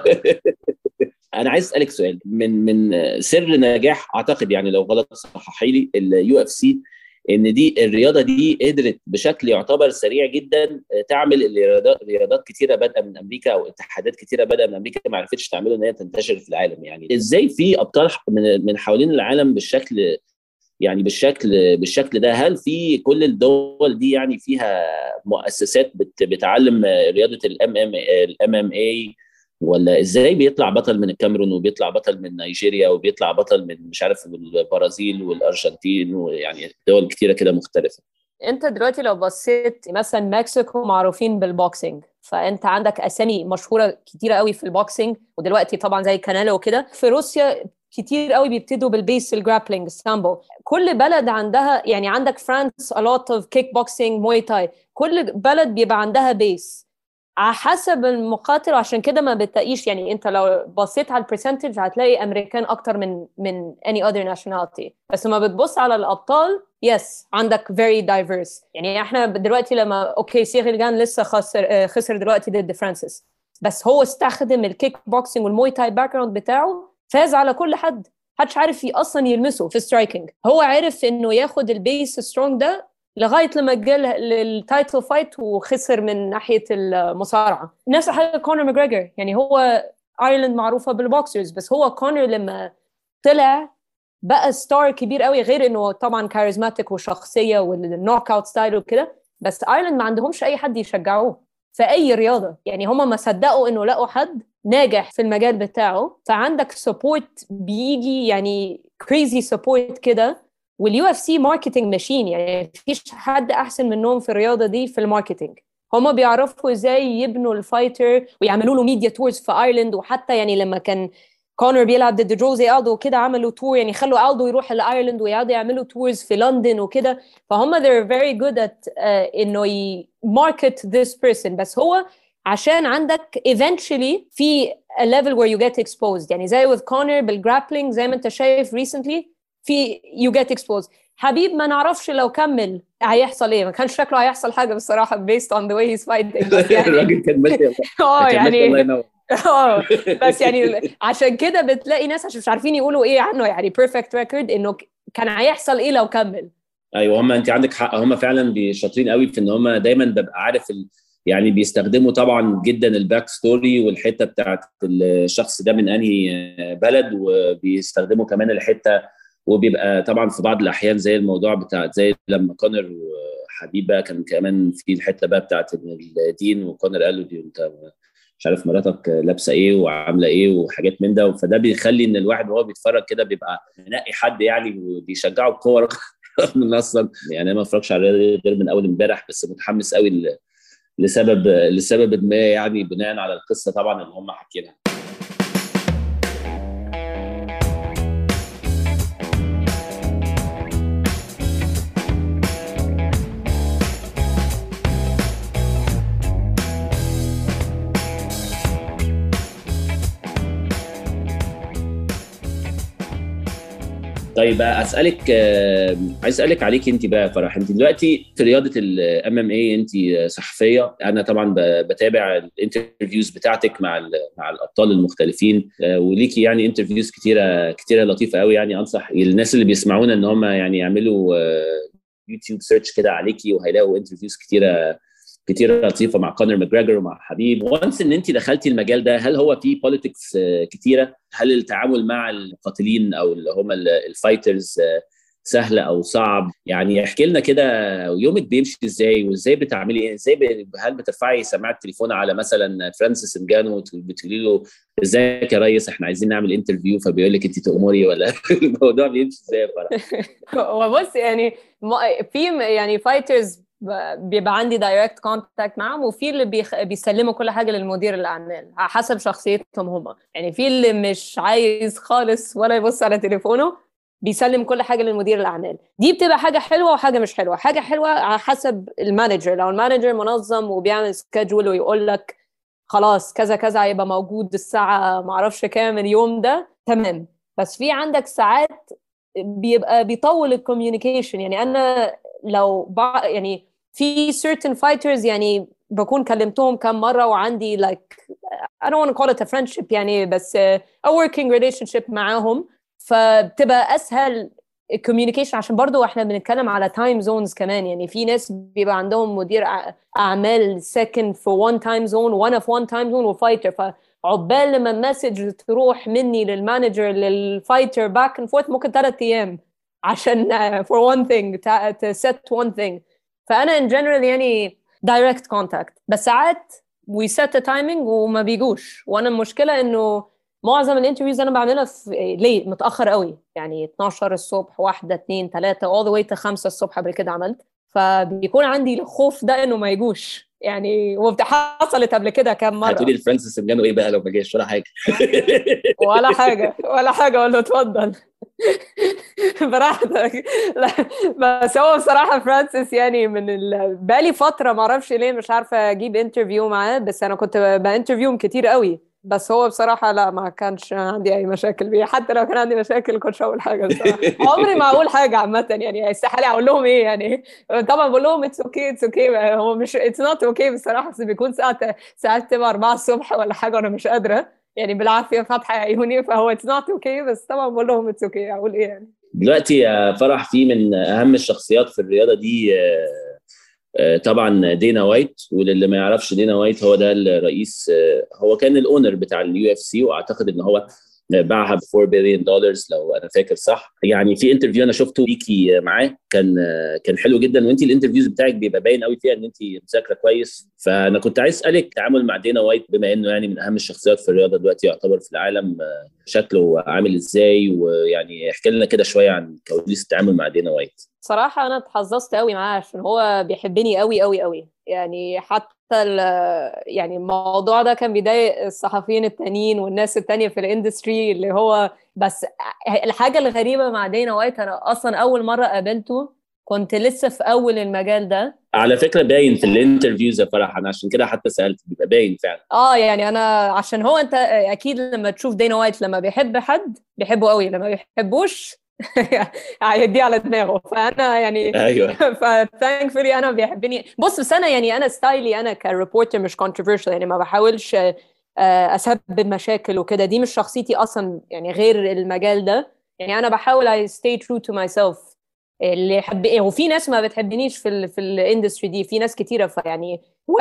انا عايز اسالك سؤال، من سر نجاح اعتقد، يعني لو غلط صححي لي، اليو اف سي، ان دي الرياضه دي قدرت بشكل يعتبر سريع جدا تعمل رياضات كتيره بادئه من امريكا، او اتحادات كتيره بادئه من امريكا ما عرفتش تعمله ان هي تنتشر في العالم. يعني ازاي في ابطال من حوالين العالم بالشكل، يعني بالشكل ده؟ هل في كل الدول دي يعني فيها مؤسسات بتعلم رياضه الام ام اي، ولا ازاي بيطلع بطل من الكاميرون وبيطلع بطل من نيجيريا وبيطلع بطل من مش عارف البرازيل والارجنتين، ويعني دول كتيره كده مختلفه؟ انت دلوقتي لو بصيت مثلا مكسيكو معروفين بالبوكسينج، فانت عندك اسامي مشهوره كتيره قوي في البوكسينج، ودلوقتي طبعا زي كانيلو وكده. في روسيا كتير قوي بيبتدوا بالبيس الجرابلينج السامبو. كل بلد عندها، يعني عندك فرانس a lot of kick boxing موي تاي، كل بلد بيبقى عندها بيس على حسب المقاتل. وعشان كده ما بتلاقيش، يعني انت لو بصيت على البرسنتج هتلاقي امريكان اكتر من any other nationality. بس ما بتبص على الابطال، يس عندك very diverse. يعني احنا دلوقتي لما اوكي سيغيل جان لسه خسر دلوقتي ضد فرانسيس، بس هو استخدم الكيك بوكسينج والموي تاي باك جراوند بتاعه، فاز على كل حد، محدش عارف اصلا يلمسه في سترايكنج. هو عرف انه ياخد البيس سترونج ده لغايه لما جه للتايتل فايت وخسر من ناحيه المصارعه. نفس الحاجه كونر ماجريجر، يعني هو ايرلند معروفه بالبوكسرز، بس هو كونر لما طلع بقى ستار كبير قوي، غير انه طبعا كاريزماتيك وشخصيه والنوك اوت ستايل وكده. بس ايرلند ما عندهمش اي حد يشجعوه في اي رياضه، يعني هم ما صدقوا انه لقوا حد ناجح في المجال بتاعه. فعندك سبورت بيجي، يعني كريزي سبورت كده. واليو اف سي ماركتنج ماشين، يعني مفيش حد احسن منهم في الرياضه دي في الماركتنج. هما بيعرفوا ازاي يبنوا الفايتر ويعملوا له ميديا تورز في ايرلند. وحتى يعني لما كان كونر بيلعب ضد جوزي ألدو وكده عملوا تور، يعني خلوا ألدو يروح لايرلند ويقعدوا يعملوا تورز في لندن وكده. فهم they're very good at انه market this person. بس هو عشان عندك eventually في a level where you get exposed، يعني زي with Conor بالجرابلينج زي ما انت شايف recently في you get exposed. حبيب ما نعرفش لو كمل هيحصل ايه، ما كانش شكله هيحصل حاجه بصراحه based on the way he's fighting. بس يعني الراجل كان ماشي يعني الله ينور. بس يعني عشان كده بتلاقي ناس عشان مش عارفين يقولوا ايه عنه، يعني perfect record انه كان هيحصل ايه لو كمل. ايوه هم انت عندك حق، هم فعلا شاطرين قوي في ان هم دايما ببقى عارف يعني بيستخدموا طبعا جدا الباك ستوري والحته بتاعت الشخص ده من انهي بلد، وبيستخدموا كمان الحته، وبيبقى طبعا في بعض الاحيان زي الموضوع بتاع زي لما كونر وحبيب بقى كان كمان في الحته بقى بتاعت الدين، وكونر قال له دي انت مش عارف مراتك لابسه ايه وعامله ايه وحاجات من ده. فده بيخلي ان الواحد وهو بيتفرج كده بيبقى منقي حد يعني وبيشجعه بقوه من اصلا يعني انا ما اتفرجش على غير من اول امبارح، بس متحمس قوي لسبب ما، يعني بناء على القصه طبعا اللي هم حاكينها. طيب اسالك، عايز اسالك عليك انت بقى فرح. انت دلوقتي في رياضه الام ام اي انت صحفيه، انا طبعا بتابع الانترفيوز بتاعتك مع الابطال المختلفين، وليكي يعني انترفيوز كتيره لطيفه قوي. يعني انصح الناس اللي بيسمعونا ان هم يعني يعملوا يوتيوب سيرش كده عليكي، وهيلاقوا انترفيوز كتيره لطيفه مع كونر ماجريجر ومع حبيب. وانس ان انت دخلتي المجال ده، هل هو فيه بوليتكس كتيره؟ هل التعامل مع المقاتلين او اللي هم الفايترز سهل او صعب؟ يعني احكي لنا كده يومك بيمشي ازاي، وازاي بتعملي ايه، هل بترفعي سماعه التليفون على مثلا فرانسيس انجانو وبتقولي له ازيك يا ريس احنا عايزين نعمل انترفيو، فبيقول لك انت تأمري، ولا الموضوع بيمشي ازاي؟ هو بص يعني في يعني فايترز بيبقى عندي دايركت كونتاكت معهم، وفي اللي بيسلموا كل حاجه للمدير الاعمال على حسب شخصيتهم هم. يعني في اللي مش عايز خالص ولا يبص على تليفونه، بيسلم كل حاجه للمدير الاعمال. دي بتبقى حاجه حلوه وحاجه مش حلوه. حاجه حلوه على حسب المانجر، لو المانجر منظم وبيعمل سكادجول ويقول لك خلاص كذا كذا هيبقى موجود الساعه ما اعرفش كام اليوم ده، تمام. بس في عندك ساعات بيبقى بيطول الكوميونيكيشن. يعني انا لو يعني في certain fighters يعني بكون كلمتهم كم مرة وعندي like I don't want to call it a friendship يعني، بس a working relationship معاهم، فبتبقى أسهل الكوميونيكيشن. عشان برضو احنا بنتكلم على time zones كمان. يعني في ناس بيبقى عندهم مدير أعمال ساكن في one time zone وأنا في one time zone وفايتر، فعقبال لما المسج تروح مني للمانجر للفايتر back and forth ممكن 3 أيام عشان for one thing to set one thing. فأنا in general يعني direct contact، بس ساعات we set the timing وما بيجوش. وأنا المشكلة إنه معظم الانترفيوز أنا بعملها في ليه متأخر قوي، يعني 12 الصبح 1 2 3 all the way to 5 الصبح قبل كده عملت، فبيكون عندي الخوف ده إنه ما يجوش يعني. حصلت قبل كده كام مرة. هتقولي الفرانسيس سمجانو إيه بقى لو ما جاش ولا حاجة؟ ولا حاجة ولا حاجة، أقول له اتفضل براحتك. بس هو بصراحة فرانسيس يعني بقالي فترة معرفش ليه مش عارفة أجيب انترفيو معاه، بس أنا كنت بانترفيوم كتير قوي، بس هو بصراحة لا ما كانش عندي أي مشاكل بيه. حتى لو كان عندي مشاكل كنتش أقول حاجة بصراحة. عمري ما أقول حاجة عامة يعني، استحالة أقول لهم إيه يعني. طبعا بقول لهم it's okay هو مش it's not okay بصراحة، بس بيكون ساعات تبقى 4 الصبح ولا حاجة وأنا مش قادرة يعني بالعافية فاتحة عيوني، فهو it's not okay، بس طبعا بقول لهم it's okay. أقول إيه يعني. دلوقتي يا فرح في من أهم الشخصيات في الرياضة دي طبعا دينا وايت. وللي ما يعرفش دينا وايت هو ده الرئيس، هو كان الاونر بتاع اليو اف سي، واعتقد ان هو باعها ب $4 billion لو انا فاكر صح. يعني في انترفيو انا شفته ليكي معاه كان حلو جدا، وانت الانترفيوز بتاعك بيبقى باين قوي فيها ان انت مذاكره كويس. فانا كنت عايز اسالك التعامل مع دينا وايت بما انه يعني من اهم الشخصيات في الرياضه دلوقتي يعتبر في العالم، شكله عامل ازاي؟ ويعني احكي لنا كده شويه عن كواليس التعامل مع دينا وايت. صراحة أنا اتحظظت قوي معاه عشان هو بيحبني قوي قوي قوي يعني. حتى يعني الموضوع ده كان بيضايق الصحفيين التانيين والناس التانية في الاندستري اللي هو. بس الحاجة الغريبة مع دينا وايت، أنا أصلا أول مرة قابلته كنت لسه في أول المجال ده. على فكرة باين في الانترفيوز يا فرح، أنا عشان كده حتى سألت، بيبقى باين فعلا. يعني أنا عشان هو أنت أكيد لما تشوف دينا وايت لما بيحب حد بيحبه قوي، لما بيحبوش هيديه على دماغه. فانا يعني ايوه فتانكفولي انا بيحبني. بس انا يعني انا ستايلي انا كريبورتر مش كونتروفيرشال يعني، ما بحاولش اسبب مشاكل وكده، دي مش شخصيتي اصلا يعني غير المجال ده يعني. انا بحاول I stay true to myself. اللي يحب وفي ناس ما بتحبنيش في الاندستري دي، في ناس كتيره يعني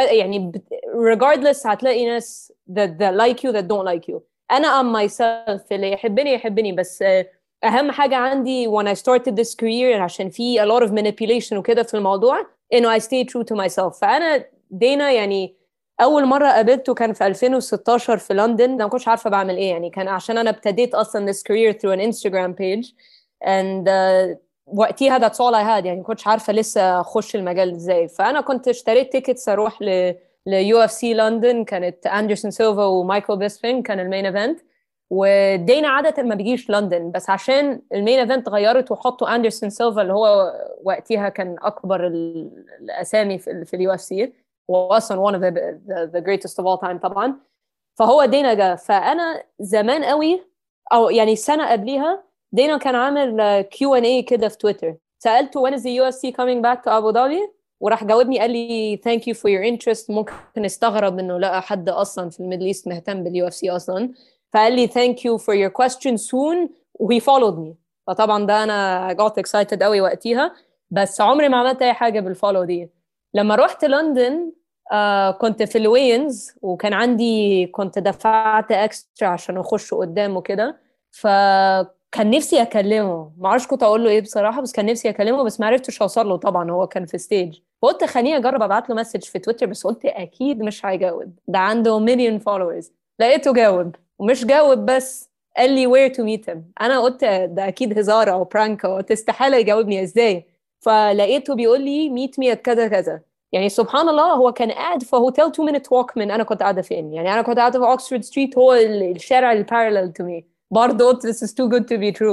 regardless هتلاقي ناس that like you that don't like you. انا am myself، اللي يحبني بس اهم حاجه عندي when I started this career عشان في a lot of manipulation وكده في الموضوع انه I stay true to myself. فانا دينا يعني اول مره قابلته كان في 2016 في لندن. انا ما كنتش عارفه بعمل ايه يعني، كان عشان انا ابتديت اصلا this career through an Instagram page and وقتها that's all I had يعني، ما كنتش عارفه لسه اخش المجال ازاي. فانا كنت اشتريت تيكتس اروح يو اف سي لندن، كانت اندرسون سيلفا ومايكل بيسبين كان المين ايفنت. ودينا عادة ما بيجيش لندن، بس عشان المين ايفنت غيرت وحطوا اندرسون سيلفا اللي هو وقتها كان اكبر الاسامي في اليو اف سي، واصلا one of the greatest of all time طبعا. فهو دينا جا. فانا زمان قوي او يعني سنه قبليها دينا كان عامل Q&A كده في تويتر، سالته when is the UFC coming back to Abu Dhabi، وراح جاوبني قال لي thank you for your interest. ممكن استغرب انه لقى حد اصلا في الميدل ايست مهتم باليو اف سي اصلا، فقال لي thank you for your question soon و he followed me. فطبعا ده انا got excited قوي وقتها، بس عمري ما عملت اي حاجه بالفولو دي. لما رحت لندن كنت في الوينز وكان عندي كنت دفعت اكسترا عشان اخش قدام وكده، فكان نفسي اكلمه، ما اعرفش كنت اقول له ايه بصراحه، بس كان نفسي اكلمه بس ما عرفتش اوصل له طبعا، هو كان في ستيج. فقلت خليني اجرب ابعت له مسج في تويتر، بس قلت اكيد مش هيجاوب، ده عنده مليون فولورز. لقيته جاوب، ومش جاوب بس قال لي where to meet him. انا قلت ده اكيد هزار او برانك، قلت استحاله يجاوبني ازاي. فلقيته بيقول لي meet me at كذا كذا. يعني سبحان الله هو كان قاعد في هوتيل 2 minute walk من انا كنت قاعده فين يعني. انا كنت قاعده في اوكسفورد ستريت، هو الشارع البارallel to me. برضه قلت this is too good to be true.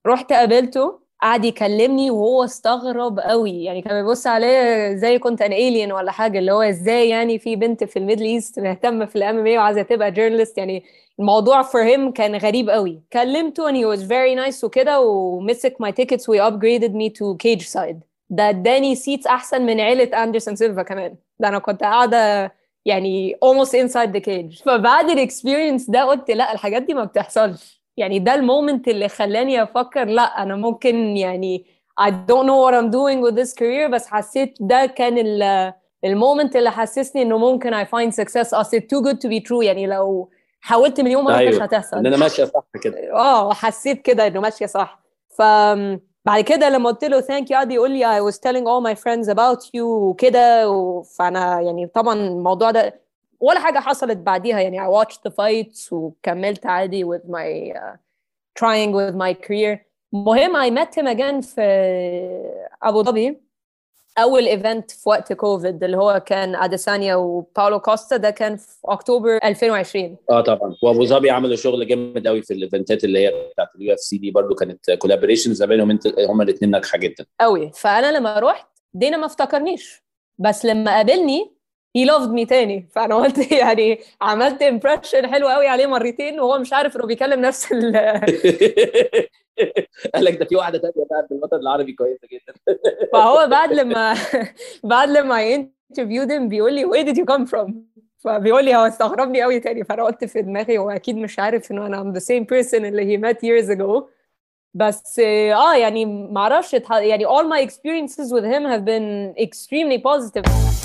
رحت قابلته، قعد يكلمني وهو استغرب قوي، يعني كان بيبص عليه زي كنت ان alien ولا حاجه، اللي هو ازاي يعني في بنت في الميدل ايست مهتمه في الام ام اي وعايزه تبقى جورنالست، يعني الموضوع for him كان غريب قوي. كلمته and he was very nice وكده، ومسك my tickets و upgraded me to cage side. ده اداني سيتس احسن من عيله اندرسون سيلفا كمان، ده انا كنت قاعده يعني almost inside the cage. فبعد الاكسبيرينس ده قلت لا، الحاجات دي ما بتحصلش. يعني ده المومنت اللي خلاني افكر لا انا ممكن يعني I don't know what I'm doing with this career، بس حسيت ده كان المومنت اللي حسسني انه ممكن I find success. اصل too good to be true، يعني لو حاولت مليون مرة مش ايوه هتحصل. ان انا ماشيه صح كده. حسيت كده انه ماشية صح. ف بعد كده لما قلت له thank you قعد يقول لي I was telling all my friends about you وكده فانا يعني طبعا الموضوع ده ولا حاجة حصلت بعديها، يعني I watched the fights وكملت عادي with my trying with my career. مهم I met him again في أبو ظبي، أول إيفنت في وقت كوفيد اللي هو كان أديسانيا وباولو كوستا، ده كان في أكتوبر 2020. طبعا، وابو ظبي عملوا شغل جامد قوي في الايفنتات اللي هي بتاعت اليو اف سي دي، برضو كانت كولابوريشنز ما بينهم هما الاثنين ناجحه جدا قوي. فأنا لما رحت دينا ما افتكرنيش، بس لما قابلني he loved me تاني. فأنا قلت يعني عملت impression حلو قوي عليه مرتين وهو مش عارف إنه بيكلم نفس قال لك ده في واحده ثانيه بقى في الوطن العربي كويسه جدا. فهو بعد لما بعد لما interviewed him بيقول لي where did you come from، فبيقول لي هو استغربني قوي تاني. فانا قلت في دماغي هو اكيد مش عارف انه انا I'm the same person اللي he met years ago. بس يعني ما اعرفش يعني all my experiences with him have been extremely positive.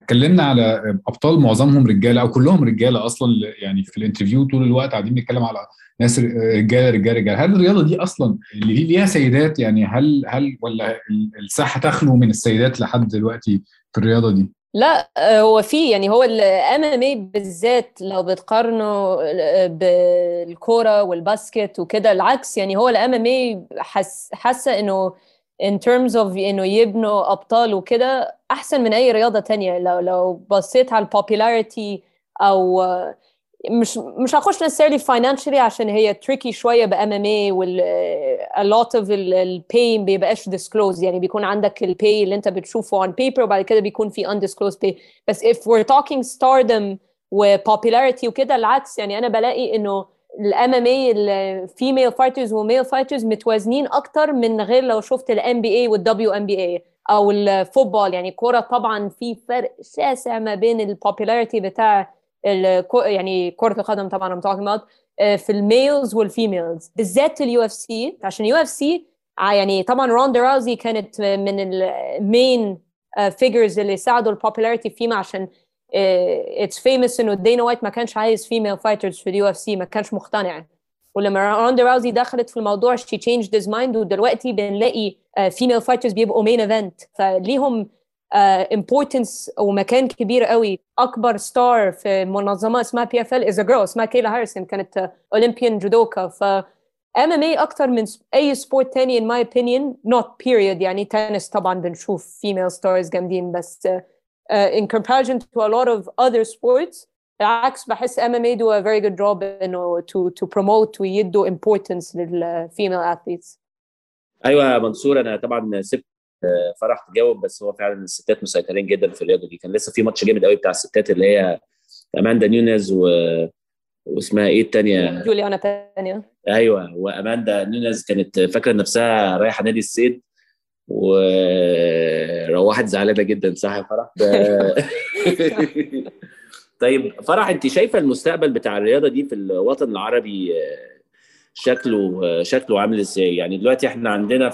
اتكلمنا على ابطال معظمهم رجاله او كلهم رجاله اصلا، يعني في الانترفيو طول الوقت قاعدين بنتكلم على ناس رجاله رجاله رجاله. هل الرياضه دي اصلا اللي ليها سيدات؟ يعني هل ولا الساحه تخلو من السيدات لحد دلوقتي في الرياضه دي؟ لا، هو في يعني هو الام ام اي بالذات لو بتقارنه بالكوره والباسكت وكده، العكس يعني هو الام ام اي حاسه انه in terms of انه يبنوا ابطال وكده احسن من اي رياضه تانية. لو بصيت على البوبولاريتي او مش هخش necessarily financially عشان هي tricky شوية ب MMA a lot of ال pay بيبقاش disclosed، يعني بيكون عندك ال pay اللي انت بتشوفه on paper وبعد كده بيكون في undisclosed pay. بس if we're talking stardom و popularity وكده العكس، يعني انا بلاقي انه ال MMA ال female fighters و male fighters متوازنين اكتر من غير لو شفت ال NBA وال WNBA او الفوتبول. يعني الكورة طبعا في فرق شاسع ما بين ال popularity بتاع يعني كرة القدم طبعا I'm talking about في الميلز والفيميلز بالذات اليو اف سي. عشان اليو اف سي يعني طبعا روندا راوزي كانت من المين فيجرز اللي ساعدوا البوبولاريتي فيما، عشان اتس فيمس انه دينا وايت ما كانش عايز فيميل فايترز في اليو اف سي، ما كانش مقتنع. ولما روندا راوزي دخلت في الموضوع she changed his mind، ودلوقتي بنلاقي فيميل فايترز بيبقوا مين ايفنت، فليهم importance ومكان كبير قوي. اكبر ستار في منظمه اسمها PFL is a girl اسمها كيلا هاريسون، كانت اولمبيان جودوكا. ف MMA اكتر من اي سبورت تاني in my opinion not period. يعني تنس طبعا بنشوف female stars جامدين، بس in comparison to a lot of other sports العكس بحس MMA do a very good job انه to promote ويدوا importance للفيميل athletes. ايوه يا منصور، انا طبعا سبت فرح تجاوب، بس هو فعلا الستات مسيطرين جدا في الرياضه دي. كان لسه في ماتش جامد قوي بتاع الستات اللي هي اماندا نيونيز واسمها ايه الثانيه؟ جوليانا بانيا. ايوه، واماندا نيونيز كانت فاكره نفسها رايحه نادي الصيد وروحت زعلانه جدا، صح يا فرح؟ طيب فرح، انت شايفه المستقبل بتاع الرياضه دي في الوطن العربي شكله عامل ازاي؟ يعني دلوقتي احنا عندنا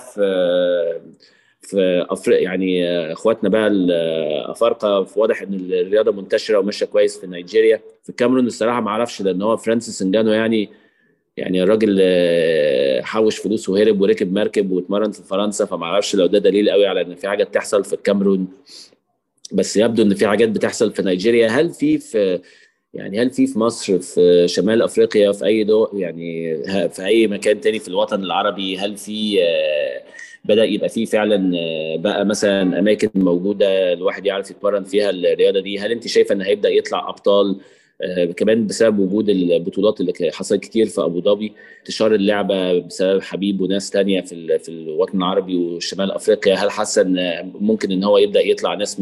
في افريقيا يعني اخواتنا بقى الافارقه، واضح ان الرياضه منتشره وماشيه كويس في نيجيريا. في الكاميرون الصراحه ما اعرفش، لان هو فرانسيس انجانو يعني الراجل حوش فلوس وهرب وركب مركب واتمرن في فرنسا، فما اعرفش لو ده دليل قوي على ان في حاجه بتحصل في الكاميرون. بس يبدو ان في حاجات بتحصل في نيجيريا. هل في مصر، في شمال افريقيا، في اي دول، يعني في اي مكان تاني في الوطن العربي، هل في بدأ يبقى فيه فعلا بقى مثلا اماكن موجوده الواحد يعرف يتمرن فيها الرياضه دي؟ هل انت شايفه ان هيبدأ يطلع ابطال كمان بسبب وجود البطولات اللي حصلت كتير في ابو ظبي، انتشار اللعبه بسبب حبيب وناس تانية في الوطن العربي وشمال افريقيا؟ هل حاسه ان ممكن ان هو يبدا يطلع ناس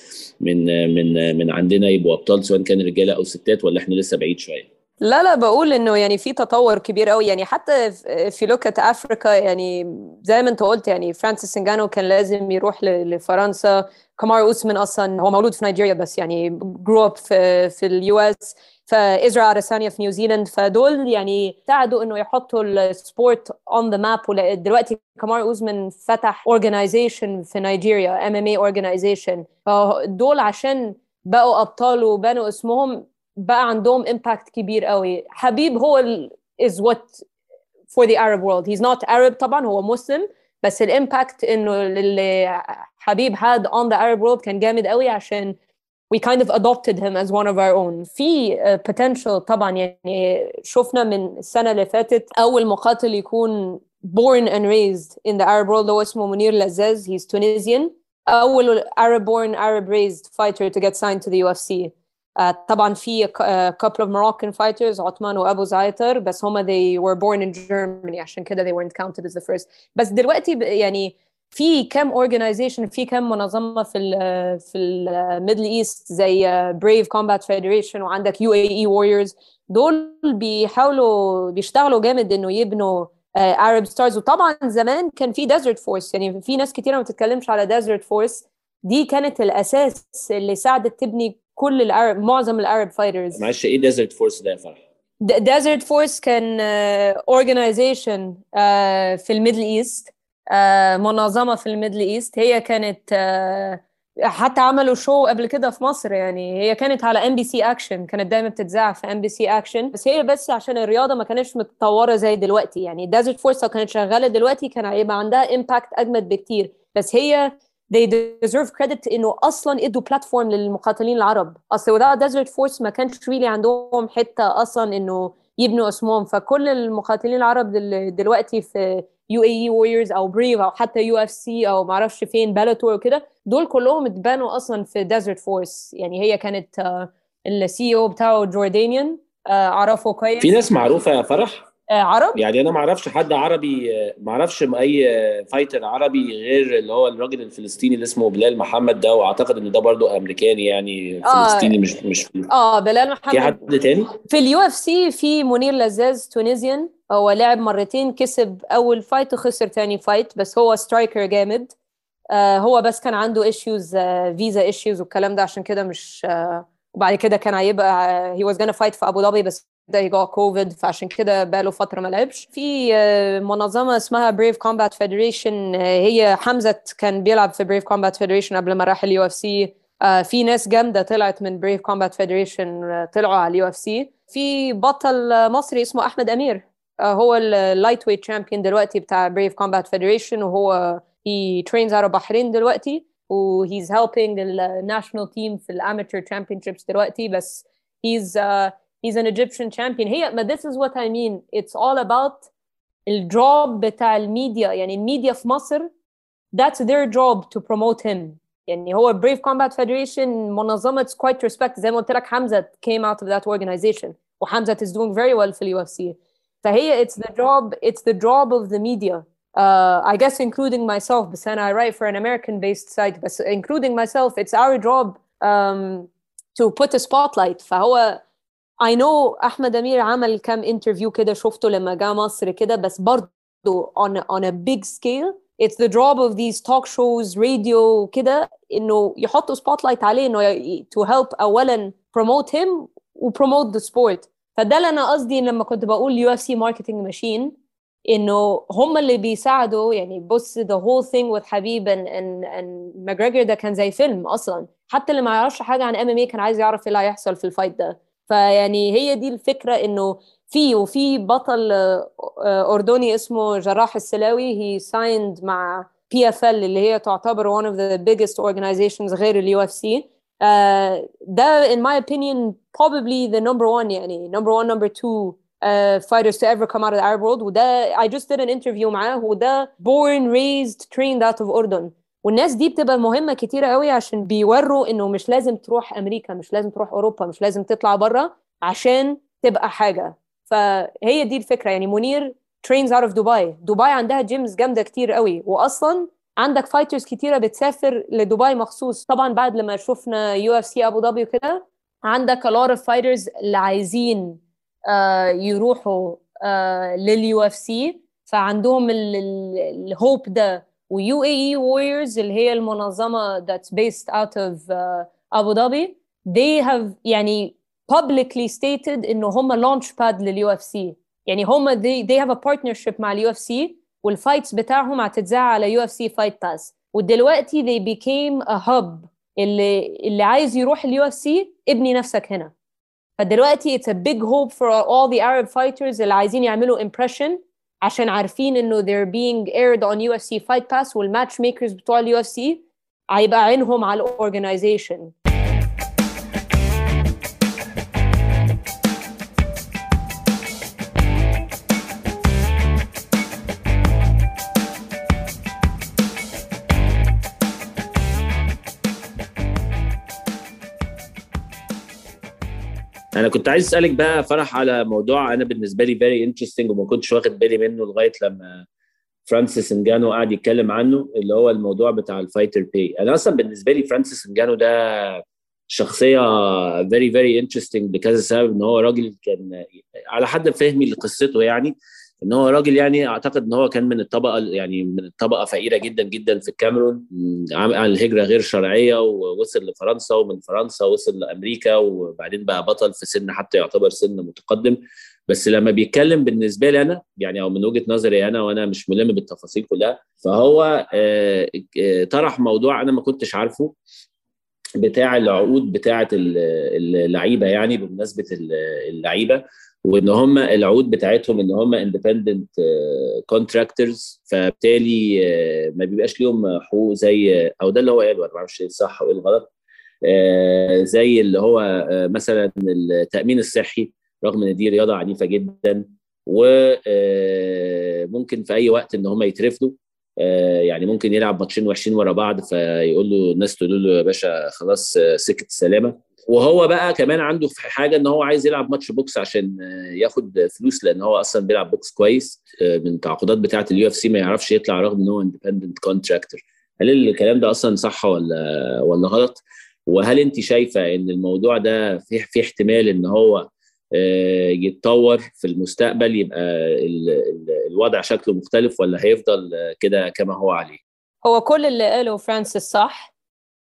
من عندنا يبقوا ابطال، سواء كان رجاله او ستات، ولا احنا لسه بعيد شويه؟ لا بقول انه يعني في تطور كبير قوي. يعني حتى في لوكة افريكا، يعني زي ما انت قلت، يعني فرانسيس انجانو كان لازم يروح لفرنسا. كامارو اوسمان اصلا هو مولود في نيجيريا بس يعني جرو اب في اليو اس. فإزرا أديسانيا في نيوزيلاند، فدول يعني ساعدوا انه يحطوا السبورت اون ذا ماب. دلوقتي كامارو اوسمان فتح اورجانيزيشن في نيجيريا، MMA اورجانيزيشن. فدول عشان بقوا ابطال وبنوا اسمهم بقى عندهم impact كبير قوي. حبيب هو is what for the Arab world. He's not Arab طبعا، هو مسلم، بس الامباكت انه اللي حبيب had on the Arab world كان جامد قوي، عشان we kind of adopted him as one of our own. في potential طبعا. يعني شفنا من السنة اللي فاتت أول مقاتل يكون born and raised in the Arab world هو اسمه منير لزاز. He's Tunisian. أول Arab born Arab raised fighter to get signed to the UFC. طبعا في couple of Moroccan fighters عثمان وأبو زعيتر، بس هما they were born in Germany عشان كده they weren't counted as the first. بس دلوقتي يعني في كم organization، في كم منظمة في الميدل ايست زي Brave Combat Federation، وعندك UAE Warriors. دول بيشتغلوا جامد انه يبنوا Arab stars. وطبعا زمان كان في Desert Force، يعني في ناس كتيرة ما بتتكلمش على Desert Force. دي كانت الأساس اللي ساعدت تبني كل معظم العرب فايترز. معلش، ايه ديزرت فورس ده يا فرح؟ ديزرت فورس كان organization في الميدل ايست، منظمة في الميدل ايست. هي كانت حتى عملوا شو قبل كده في مصر، يعني هي كانت على MBC اكشن، كانت دايما بتتذاع في MBC اكشن، بس هي بس عشان الرياضه ما كانتش متطوره زي دلوقتي. يعني ديزرت فورس لو كانت شغاله دلوقتي كان هيبقى عندها امباكت اجمد بكتير. بس هي they deserve credit انه اصلا ادوا بلاتفورم للمقاتلين العرب. اصل without ديزرت فورس ما كانش really عندهم حته اصلا انه يبنوا اسمهم. فكل المقاتلين العرب دلوقتي في UAE Warriors او بريف او حتى UFC او معرفش فين بلاتور وكده، دول كلهم اتبنوا اصلا في ديزرت فورس. يعني هي كانت الCEO بتاعه جوردانيان، اعرفه كويس. في ناس معروفه يا فرح عرب؟ يعني انا ما اعرفش حد عربي، ما اعرفش اي فايتر عربي غير اللي هو الراجل الفلسطيني اللي اسمه بلال محمد ده، واعتقد ان ده برضو امريكاني يعني فلسطيني مش بلال محمد. في حد تاني في UFC في منير لزاز تونيزيان، هو لعب مرتين، كسب اول فايت وخسر تاني فايت، بس هو سترايكر جامد. هو بس كان عنده ايشوز، فيزا ايشوز والكلام ده، عشان كده مش وبعد كده كان هيبقى he was gonna fight في ابو ظبي، بس ده جاء كوفيد، فعشان كده بقاله فتره ما لعبش. في منظمه اسمها بريف كومبات فيدريشن، هي حمزه كان بيلعب في بريف كومبات فيدريشن قبل ما راح UFC. في ناس جامده طلعت من بريف كومبات فيدريشن طلعوا على UFC. في بطل مصري اسمه احمد امير، هو اللايت ويت تشامبيون دلوقتي بتاع بريف كومبات فيدريشن، وهو he trains out of بحرين دلوقتي، و he's helping the national team في الamateur championships دلوقتي. بس he's an Egyptian champion. هي ما this is what I mean, it's all about الجوب بتاع الميديا. يعني الميديا في مصر that's their job to promote him. يعني هو Brave Combat Federation منظمة quite respect، زي ما قلت لك حمزة came out of that organization، وحمزة is doing very well في UFC. فهي it's the job of the media. I guess including myself, but then I write for an American-based site, but including myself, it's our job to put a spotlight. فهو I know أحمد أمير عمل كام interview كده شفته لما جاء مصر كده، بس برضو on a big scale it's the job of these talk shows radio كده إنه يحطوا spotlight عليه، إنه to help أولا promote him و promote the sport. فده اللي أنا قصدي لما كنت بقول UFC marketing machine، إنه هم اللي بيساعدوا. يعني بص the whole thing with حبيب and McGregor ده كان زي فيلم أصلا، حتى اللي ما يعرفش حاجة عن MMA كان عايز يعرف إيه اللي هيحصل في الفايت ده. فيعني هي دي الفكرة، إنه وفي بطل أردني اسمه جراح السلاوي he signed مع PFL اللي هي تعتبر one of the biggest organizations غير ال UFC. ده in my opinion probably the number one، يعني number one number two fighters to ever come out of the Arab world. وده I just did an interview معاه، وده born raised trained out of أردن. والناس دي بتبقى مهمة كتيرة قوي عشان بيوروا إنه مش لازم تروح أمريكا، مش لازم تروح أوروبا، مش لازم تطلع برا عشان تبقى حاجة. فهي دي الفكرة. يعني منير trains out of دبي عندها جيمز جامدة كتير قوي، وأصلا عندك فايترز كتيرة بتسافر لدبي مخصوص. طبعا بعد لما شفنا UFC أبو ظبي وكده، عندك a lot of fighters اللي عايزين يروحوا للUFC، فعندهم الهوب ده. UAE Warriors اللي هي المنظمة that's based out of أبو ظبي they have يعني publicly stated إنه هم launch pad للUFC. يعني هم they have a partnership مع الUFC، والفايتس بتاعهم هتتذاع على UFC Fight Pass. ودلوقتي they became a hub، اللي عايز يروح الUFC ابني نفسك هنا. فدلوقتي it's a big hope for all the Arab fighters اللي عايزين يعملوا impression، عشان عارفين انه they're being aired on UFC Fight Pass، والماتش ميكرز بتوع ال UFC هيبقى عينهم على الاورجنايزيشن. انا كنت عايز اسالك بقى فرح على موضوع انا بالنسبه لي فيري انترستنج وما كنتش واخد بالي منه لغايه لما فرانسيس انجانو قاعد يتكلم عنه، اللي هو الموضوع بتاع الفايتر باي. انا اصلا بالنسبه لي فرانسيس انجانو ده شخصيه فيري فيري انترستنج لكذا سبب. ان هو راجل كان على حد فهمي لقصته، يعني ان هو راجل يعني اعتقد ان هو كان من الطبقه، يعني من الطبقه فقيره جدا جدا في الكاميرون، عمل هجره غير شرعيه ووصل لفرنسا، ومن فرنسا وصل لامريكا، وبعدين بقى بطل في سن حتى يعتبر سن متقدم. بس لما بيتكلم بالنسبه لي انا يعني، او من وجهه نظري انا وانا مش ملم بالتفاصيل كلها، فهو طرح موضوع انا ما كنتش عارفه، بتاع العقود بتاعه اللعيبه، يعني بمناسبه اللعيبه، وان هم العقود بتاعتهم ان هم اندبندنت كونتراكتورز، فبالتالي ما بيبقاش ليهم حقوق زي، او ده اللي هو قاله، انا ما اعرفش ايه الصح وايه الغلط، زي اللي هو مثلا التامين الصحي، رغم ان دي رياضه عنيفه جدا، وممكن في اي وقت ان هم يترفدوا. يعني ممكن يلعب ماتشين وحشين ورا بعض، فيقول له الناس تقول له يا باشا خلاص سكة السلامة. وهو بقى كمان عنده في حاجة ان هو عايز يلعب ماتش بوكس عشان ياخد فلوس، لان هو اصلا بيلعب بوكس كويس. من التعاقدات بتاعة UFC ما يعرفش يطلع رغم ان هو اندبندنت كونتراكتور. هل الكلام ده اصلا صح ولا غلط؟ وهل انت شايفة ان الموضوع ده في احتمال ان هو يتطور في المستقبل، يبقى الوضع شكله مختلف، ولا هيفضل كده كما هو عليه؟ هو كل اللي قاله فرانسيس صح،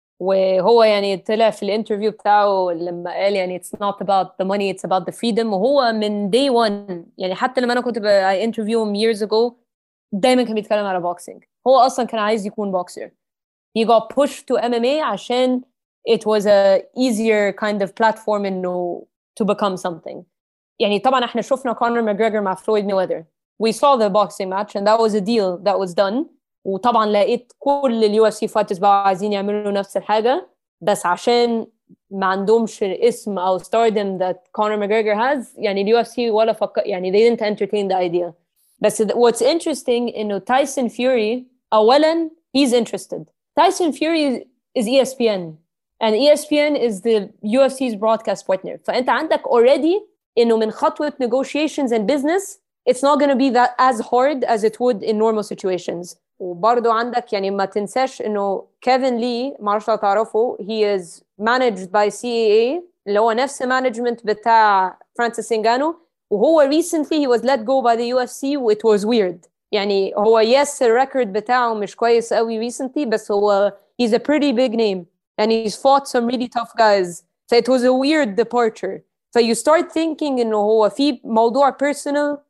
وهو يعني طلع في الانترفيو بتاعه لما قال يعني it's not about the money, it's about the freedom. وهو من day one، يعني حتى لما انا كنت انترفيو years ago دايما كان بيتكلم على بوكسينج. هو اصلا كان عايز يكون بوكسر. he got pushed to MMA عشان it was a easier kind of platform انه to become something. يعني طبعا احنا شفنا كونر ماجريجر مع فلويد ميوذر. We saw the boxing match and that was a deal that was done. وطبعا لقيت كل اليو اف سي فايترز بقى عايزين يعملوا نفس الحاجة، بس عشان ما عندهمش اسم او stardom that Conor McGregor has، يعني اليو اف سي ولا يعني they didn't entertain the idea. بس what's interesting انه تايسون فيوري اولا he's interested. Tyson Fury is ESPN and ESPN is the UFC's broadcast partner. فأنت عندك already إنه من خطوة negotiations and business it's not going to be that as hard as it would in normal situations. وبرضو عندك يعني ما تنساش إنه كيفن لي، ما أعرفش لو تعرفه، he is managed by CAA اللي هو نفس management بتاع فرانسيس إنغانو. وهو recently he was let go by the UFC it was weird. يعني هو yes الريكورد بتاعه مش كويس قوي recently، بس هو he's a pretty big name and he's fought some really tough guys. So it was a weird departure. So you start thinking إنه هو في موضوع personal.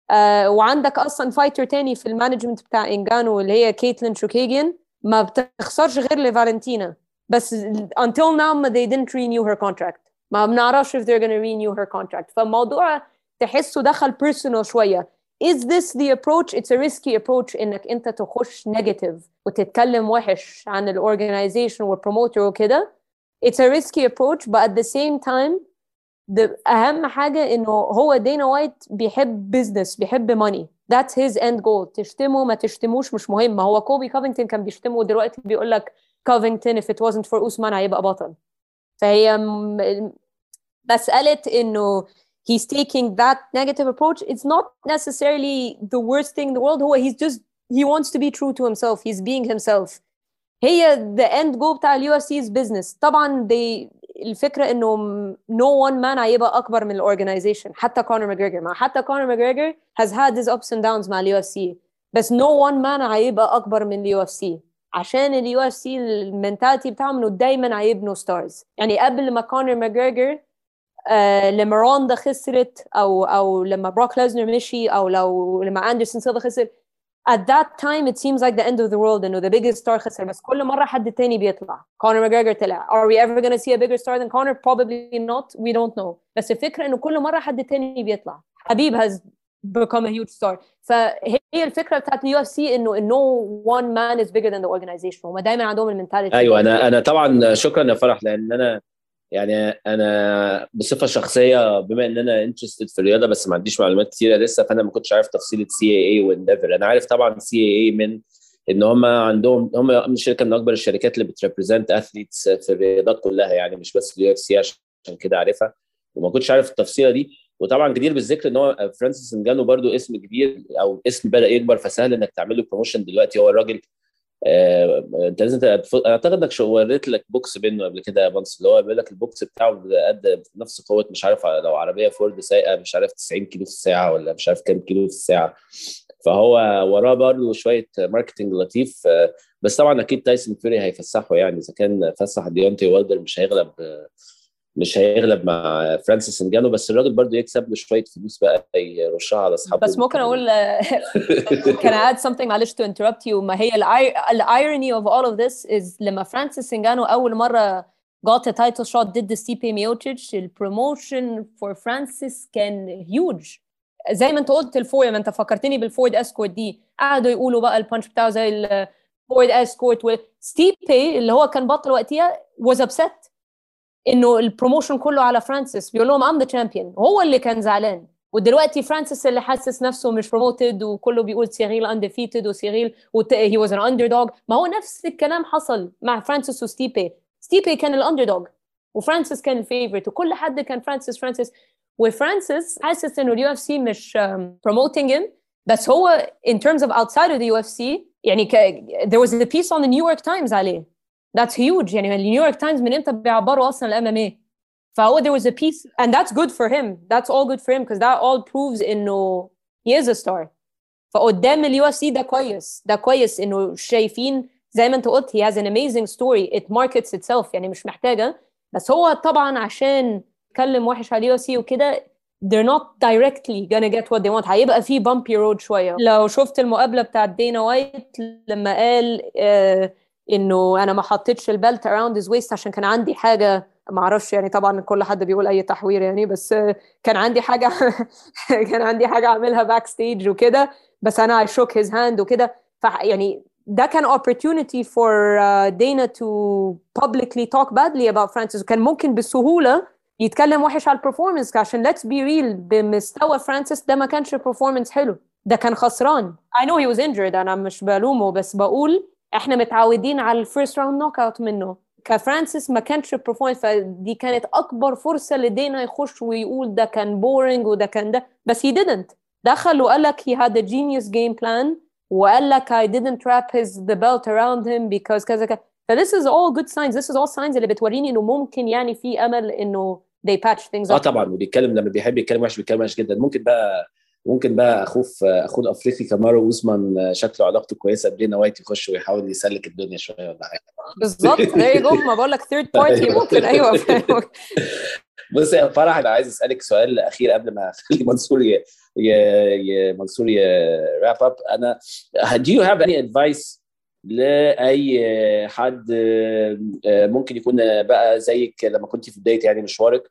وعندك أصلا فايتر تاني في المانجمنت بتاع إنغانو اللي هي كيتلين شوكيجيان، ما بتخسرش غير لفالنتينا، بس until now they didn't renew her contract. ما بنعرفش if they're gonna renew her contract. فالموضوع تحسه دخل personal شوية. Is this the approach? It's a risky approach إنك أنت تخش negative وتتكلم وحش عن الorganization والpromoter وكده. It's a risky approach, but at the same time أهم حاجة إنه هو دينا وايت بيحب business، بيحب money. That's his end goal. تشتمه ما تشتموش مش مهم. ما هو كوبي كوفينغتون كان بيشتمه ودلوقتي بيقول لك كوفينغتون if it wasn't for Usman هيبقى بطل. فهي مسألة إنه he's taking that negative approach. It's not necessarily the worst thing in the world. He wants to be true to himself. He's being himself. هي the end goal بتاع اليو اف سي is business. طبعا الفكرة انه no one man هيبقى اكبر من الاورجنايزيشن. حتى كونر ماجريجر، حتى كونر ماجريجر has had his ups and downs مع اليو اف سي، بس no one man هيبقى اكبر من اليو اف سي، عشان اليو اف سي المنتاليتي بتاعهم انه دايما هيبنوا ستارز. يعني قبل ما كونر ماجريجر لما روندا خسرت او لما بروك ليزنر مشي، او لما اندرسون سيلفا خسر، at that time it seems like the end of the world انه the biggest star خسر. بس كل مرة حد تاني بيطلع. كونر ماجريجر طلع. Are we ever going to see a bigger star than Conor? Probably not. We don't know. بس الفكرة انه كل مرة حد تاني بيطلع. حبيب has become a huge star. فهي الفكرة بتاعت اليو اف سي انه no one man is bigger than the organization. هم دايما عندهم المنتاليتي. ايوه، انا طبعا شكرا يا فرح، لان انا بصفه شخصيه بما ان انا انترستد في الرياضه بس ما عنديش معلومات كثيره لسه، فانا ما كنتش عارف تفصيله CAA وانديفر. انا عارف طبعا CAA من ان هم عندهم، هم من شركه من اكبر الشركات اللي بتريبريزنت اثليتس في الرياضات كلها، يعني مش بس اليو اف سي، عشان كده عارفها، وما كنتش عارف التفصيله دي. وطبعا جدير بالذكر ان هو فرانسيس انغانو برضو اسم كبير، او اسم بدا يكبر، فسهل انك تعمل له بروموشن دلوقتي. هو الراجل انت لازم اعتقد انك وريت لك بوكس منه قبل كده يا بانس، اللي هو بيقول لك البوكس بتاعه قد نفس قوه، مش عارف لو عربيه فورد سايقه مش عارف 90 كيلو في الساعه ولا مش عارف كام كيلو في الساعه. فهو وراه برضه شويه ماركتنج لطيف. بس طبعا اكيد تايسون فيوري هيفسحه، يعني اذا كان فسح ديونتي والدر مش هيغلب مع فرانسيس انغانو، بس الراجل برضو يكسب له شويه فلوس بقى يرشها على اصحابه. بس ممكن اقول can I add something معلش to interrupt you؟ ما هي irony of all of this is لما فرانسيس انغانو اول مره got a title shot ضد ستيبي ميوتشيتش. البروموشن for Francis كان huge. زي ما انت قلت الفورد، ما انت فكرتني بالفورد اسكورت دي، قعدوا يقولوا بقى البانش بتاعه زي الفورد اسكورت. وستيبي اللي هو كان بطل وقتها was upset انه البروموشن كله على فرانسيس، بيقول لهم I'm the champion. هو اللي كان زعلان. ودلوقتي فرانسيس اللي حاسس نفسه مش بروموتد، وكله بيقول سيريل undefeated وسيريل he was an underdog. ما هو نفس الكلام حصل مع فرانسيس وستيبي. ستيبي كان الاندردوج وفرانسيس كان الفيفورت، وكل حد كان فرانسيس. وفرانسيس حاسس انه اليو اف سي مش promoting him. بس هو in terms of outside of the UFC يعني there was a piece on the New York Times عليه. That's huge. يعني النيو يورك تايمز من امتى بيعبروا اصلا الام ام اي؟ فهو there was a piece and that's good for him. That's all good for him because that all proves انه he is a star. فقدام اليو اف سي ده كويس انه شايفين زي ما انت قلت he has an amazing story. It markets itself يعني مش محتاجه. بس هو طبعا عشان يتكلم وحش على اليو اف سي وكده they're not directly gonna get what they want. هيبقى في bumpy road شويه. لو شفت المقابله بتاعت دينا وايت لما قال انه انا ما حطيتش البلت around his waist عشان كان عندي حاجه، ما اعرفش يعني طبعا كل حد بيقول اي تحوير يعني، بس كان عندي حاجه كان عندي حاجه اعملها باك ستيج وكده، بس انا I shook his hand وكده. يعني ده كان opportunity for Dana to publicly talk badly about Francis. وكان ممكن بسهوله يتكلم وحش على البرفورمانس عشان let's be real بمستوى فرانسيس ده ما كانش performance حلو، ده كان خسران. I know he was injured، انا مش بلومه، بس بقول احنا متعودين على الفيرست راوند نوك اوت منه. كفرانسيس ما كانش performance، فدي كانت اكبر فرصه لدينا يخش ويقول ده كان بورينج وده كان ده، بس he didn't. دخل وقال لك he had a genius game plan وقال لك I didn't wrap the belt around him because كذا كذا. ف this is all good signs. This is all signs اللي بتوريني انه ممكن يعني في امل انه they patch things up. طبعا. وبيتكلم لما بيحب يتكلم وحش بيتكلم وحش جدا. ممكن بقى اخوه الافريقي كامارو اوزمان شكله علاقته كويسه بدينا وايت يخش ويحاول يسلك الدنيا شويه ولا حاجه. بالظبط زي ما بقول لك ثيرد بارتي ممكن. ايوه بص يا فرح، انا عايز اسالك سؤال اخير قبل ما اخلي منصور راب اب. انا do you have any advice لاي حد ممكن يكون بقى زيك لما كنت في بدايه يعني مشوارك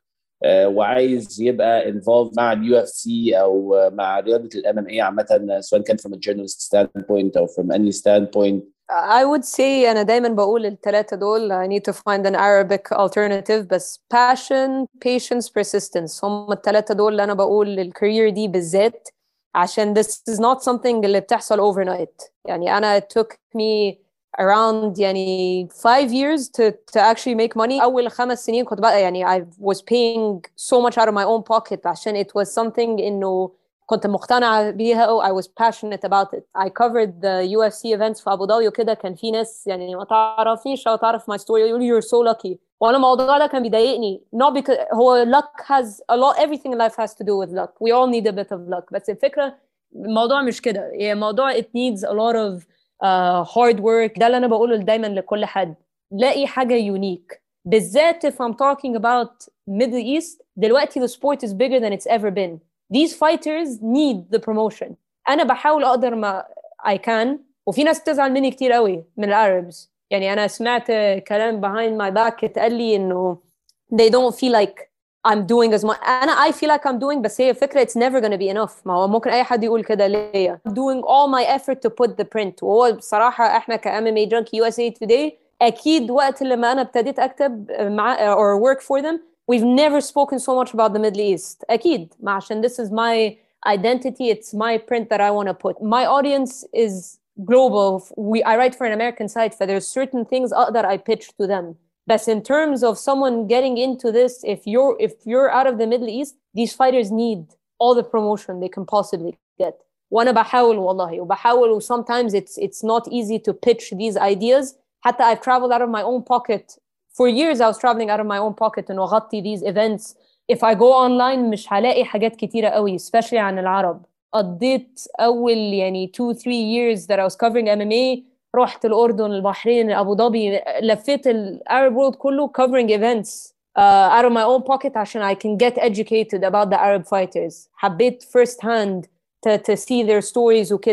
وعايز يبقى involved مع اليو اف سي او مع رياضه الام ام اي عامه، سواء كان from a journalist standpoint او from any standpoint؟ I would say أنا دايما بقول الثلاثة دول I need to find an Arabic alternative، بس passion, patience, persistence هم الثلاثة دول اللي أنا بقول الكارير دي بالذات، عشان this is not something اللي بتحصل overnight. يعني أنا it took me around يعني 5 years to actually make money. أول 5 سنين كنت بقى يعني I was paying so much out of my own pocket عشان it was something إنه كنت مقتنعة بيها. I was passionate about it. I covered the UFC events في أبو ظبي وكده، كان في ناس يعني ما تعرفنيش أو تعرف my story يقولوا you're so lucky، وأنا الموضوع ده كان بيضايقني. not because هو luck has a lot, everything in life has to do with luck. We all need a bit of luck. بس الفكرة الموضوع مش كده، يعني الموضوع it needs a lot of hard work. ده اللي أنا بقوله دايما لكل حد، لاقي حاجة unique، بالذات if I'm talking about Middle East. دلوقتي the sport is bigger than it's ever been. These fighters need the promotion. أنا بحاول أقدر ما I can، وفي ناس تزعل مني كتير قوي من العربs. يعني أنا سمعت كلام behind my back اتقال لي إنه they don't feel like I'm doing as much. I feel like I'm doing، بس هي فكرة it's never gonna be enough. ما هو ممكن أي حد يقول كده ليا. I'm doing all my effort to put the print. وهو بصراحة إحنا كMMA Junkie USA Today أكيد وقت لما أنا ابتديت أكتب مع or work for them we've never spoken so much about the Middle East. أكيد عشان this is my identity, it's my print that I want to put. My audience is global. I write for an American site, so there's certain things that I pitch to them. But in terms of someone getting into this, if you're out of the Middle East, these fighters need all the promotion they can possibly get. وأنا بحاول والله وبحاول. Sometimes it's not easy to pitch these ideas. حتى I've traveled out of my own pocket. For years I was traveling out of my own pocket and أغطي these events. If I go online مش هلاقي حاجات كتيرة قوي especially عن العرب. قضيت أول يعني 2-3 years that I was covering MMA. رحت الأردن، البحرين، أبو ظبي، لفيت العرب world كله covering events out of my own pocket عشان I can get educated about the Arab fighters. حبيت first hand to see their stories وكده.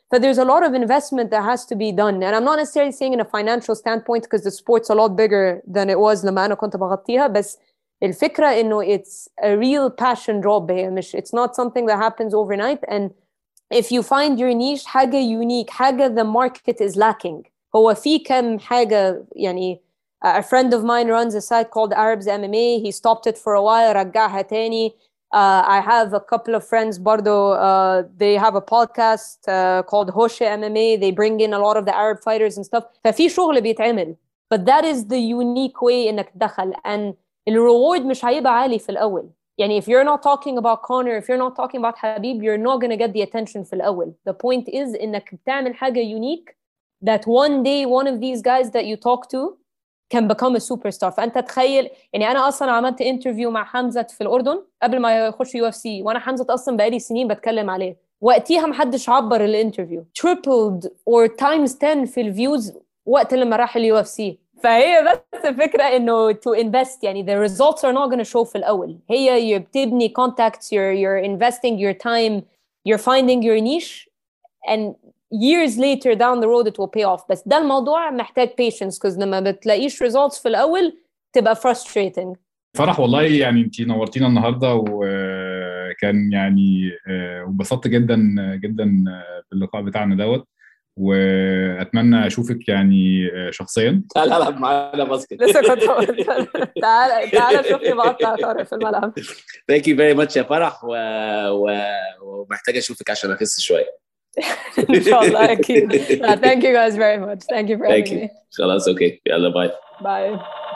But there's a lot of investment that has to be done. And I'm not necessarily saying in a financial standpoint because the sport's a lot bigger than it was لما أنا كنت بغطيها. بس الفكرة إنه it's a real passion job. هي مش it's not something that happens overnight. And if you find your niche حاجة unique, حاجة the market is lacking. هو في كم حاجة يعني a friend of mine runs a site called Arabs MMA. He stopped it for a while, رجعها تاني. I have a couple of friends برضو, they have a podcast called Hoshe MMA. They bring in a lot of the Arab fighters and stuff. ففي شغل بيتعمل. But that is the unique way إنك تدخل. And الرeward مش هيبقى عالي في الأول. يعني if you're not talking about Conor, if you're not talking about Khabib, you're not going to get the attention في الأول. The point is إنك بتعمل حاجة unique that one day one of these guys that you talk to can become a superstar. فأنت تخيل يعني أنا أصلا عملت انترفيو مع حمزة في الأردن قبل ما يخش UFC, وأنا حمزة أصلا بقالي سنين بتكلم عليه. وقتها محدش عبر الانترفيو. Tripled or times 10 في الفيوز وقت لما راح UFC. فهي بس الفكرة إنه to invest يعني the results are not going to show في الأول. هي بتبني contacts, you're investing your time, you're finding your niche, and years later down the road it will pay off. بس ده الموضوع محتاج patience because لما بتلاقيش results في الأول تبقى frustrating. فرح والله يعني انتي نورتينا النهارده وكان يعني وبسطت جدا جدا باللقاء بتاعنا دوت, واتمنى اشوفك يعني شخصيا. تعال العب معانا باسكت. لسه كنت تعال شوفني بقطع طارق في الملعب. Thank you very much يا فرح, ومحتاج اشوفك عشان اخس شويه. ان شاء الله اكيد. Thank you guys very much. Thank you for having me. خلاص اوكي, يلا باي. Bye.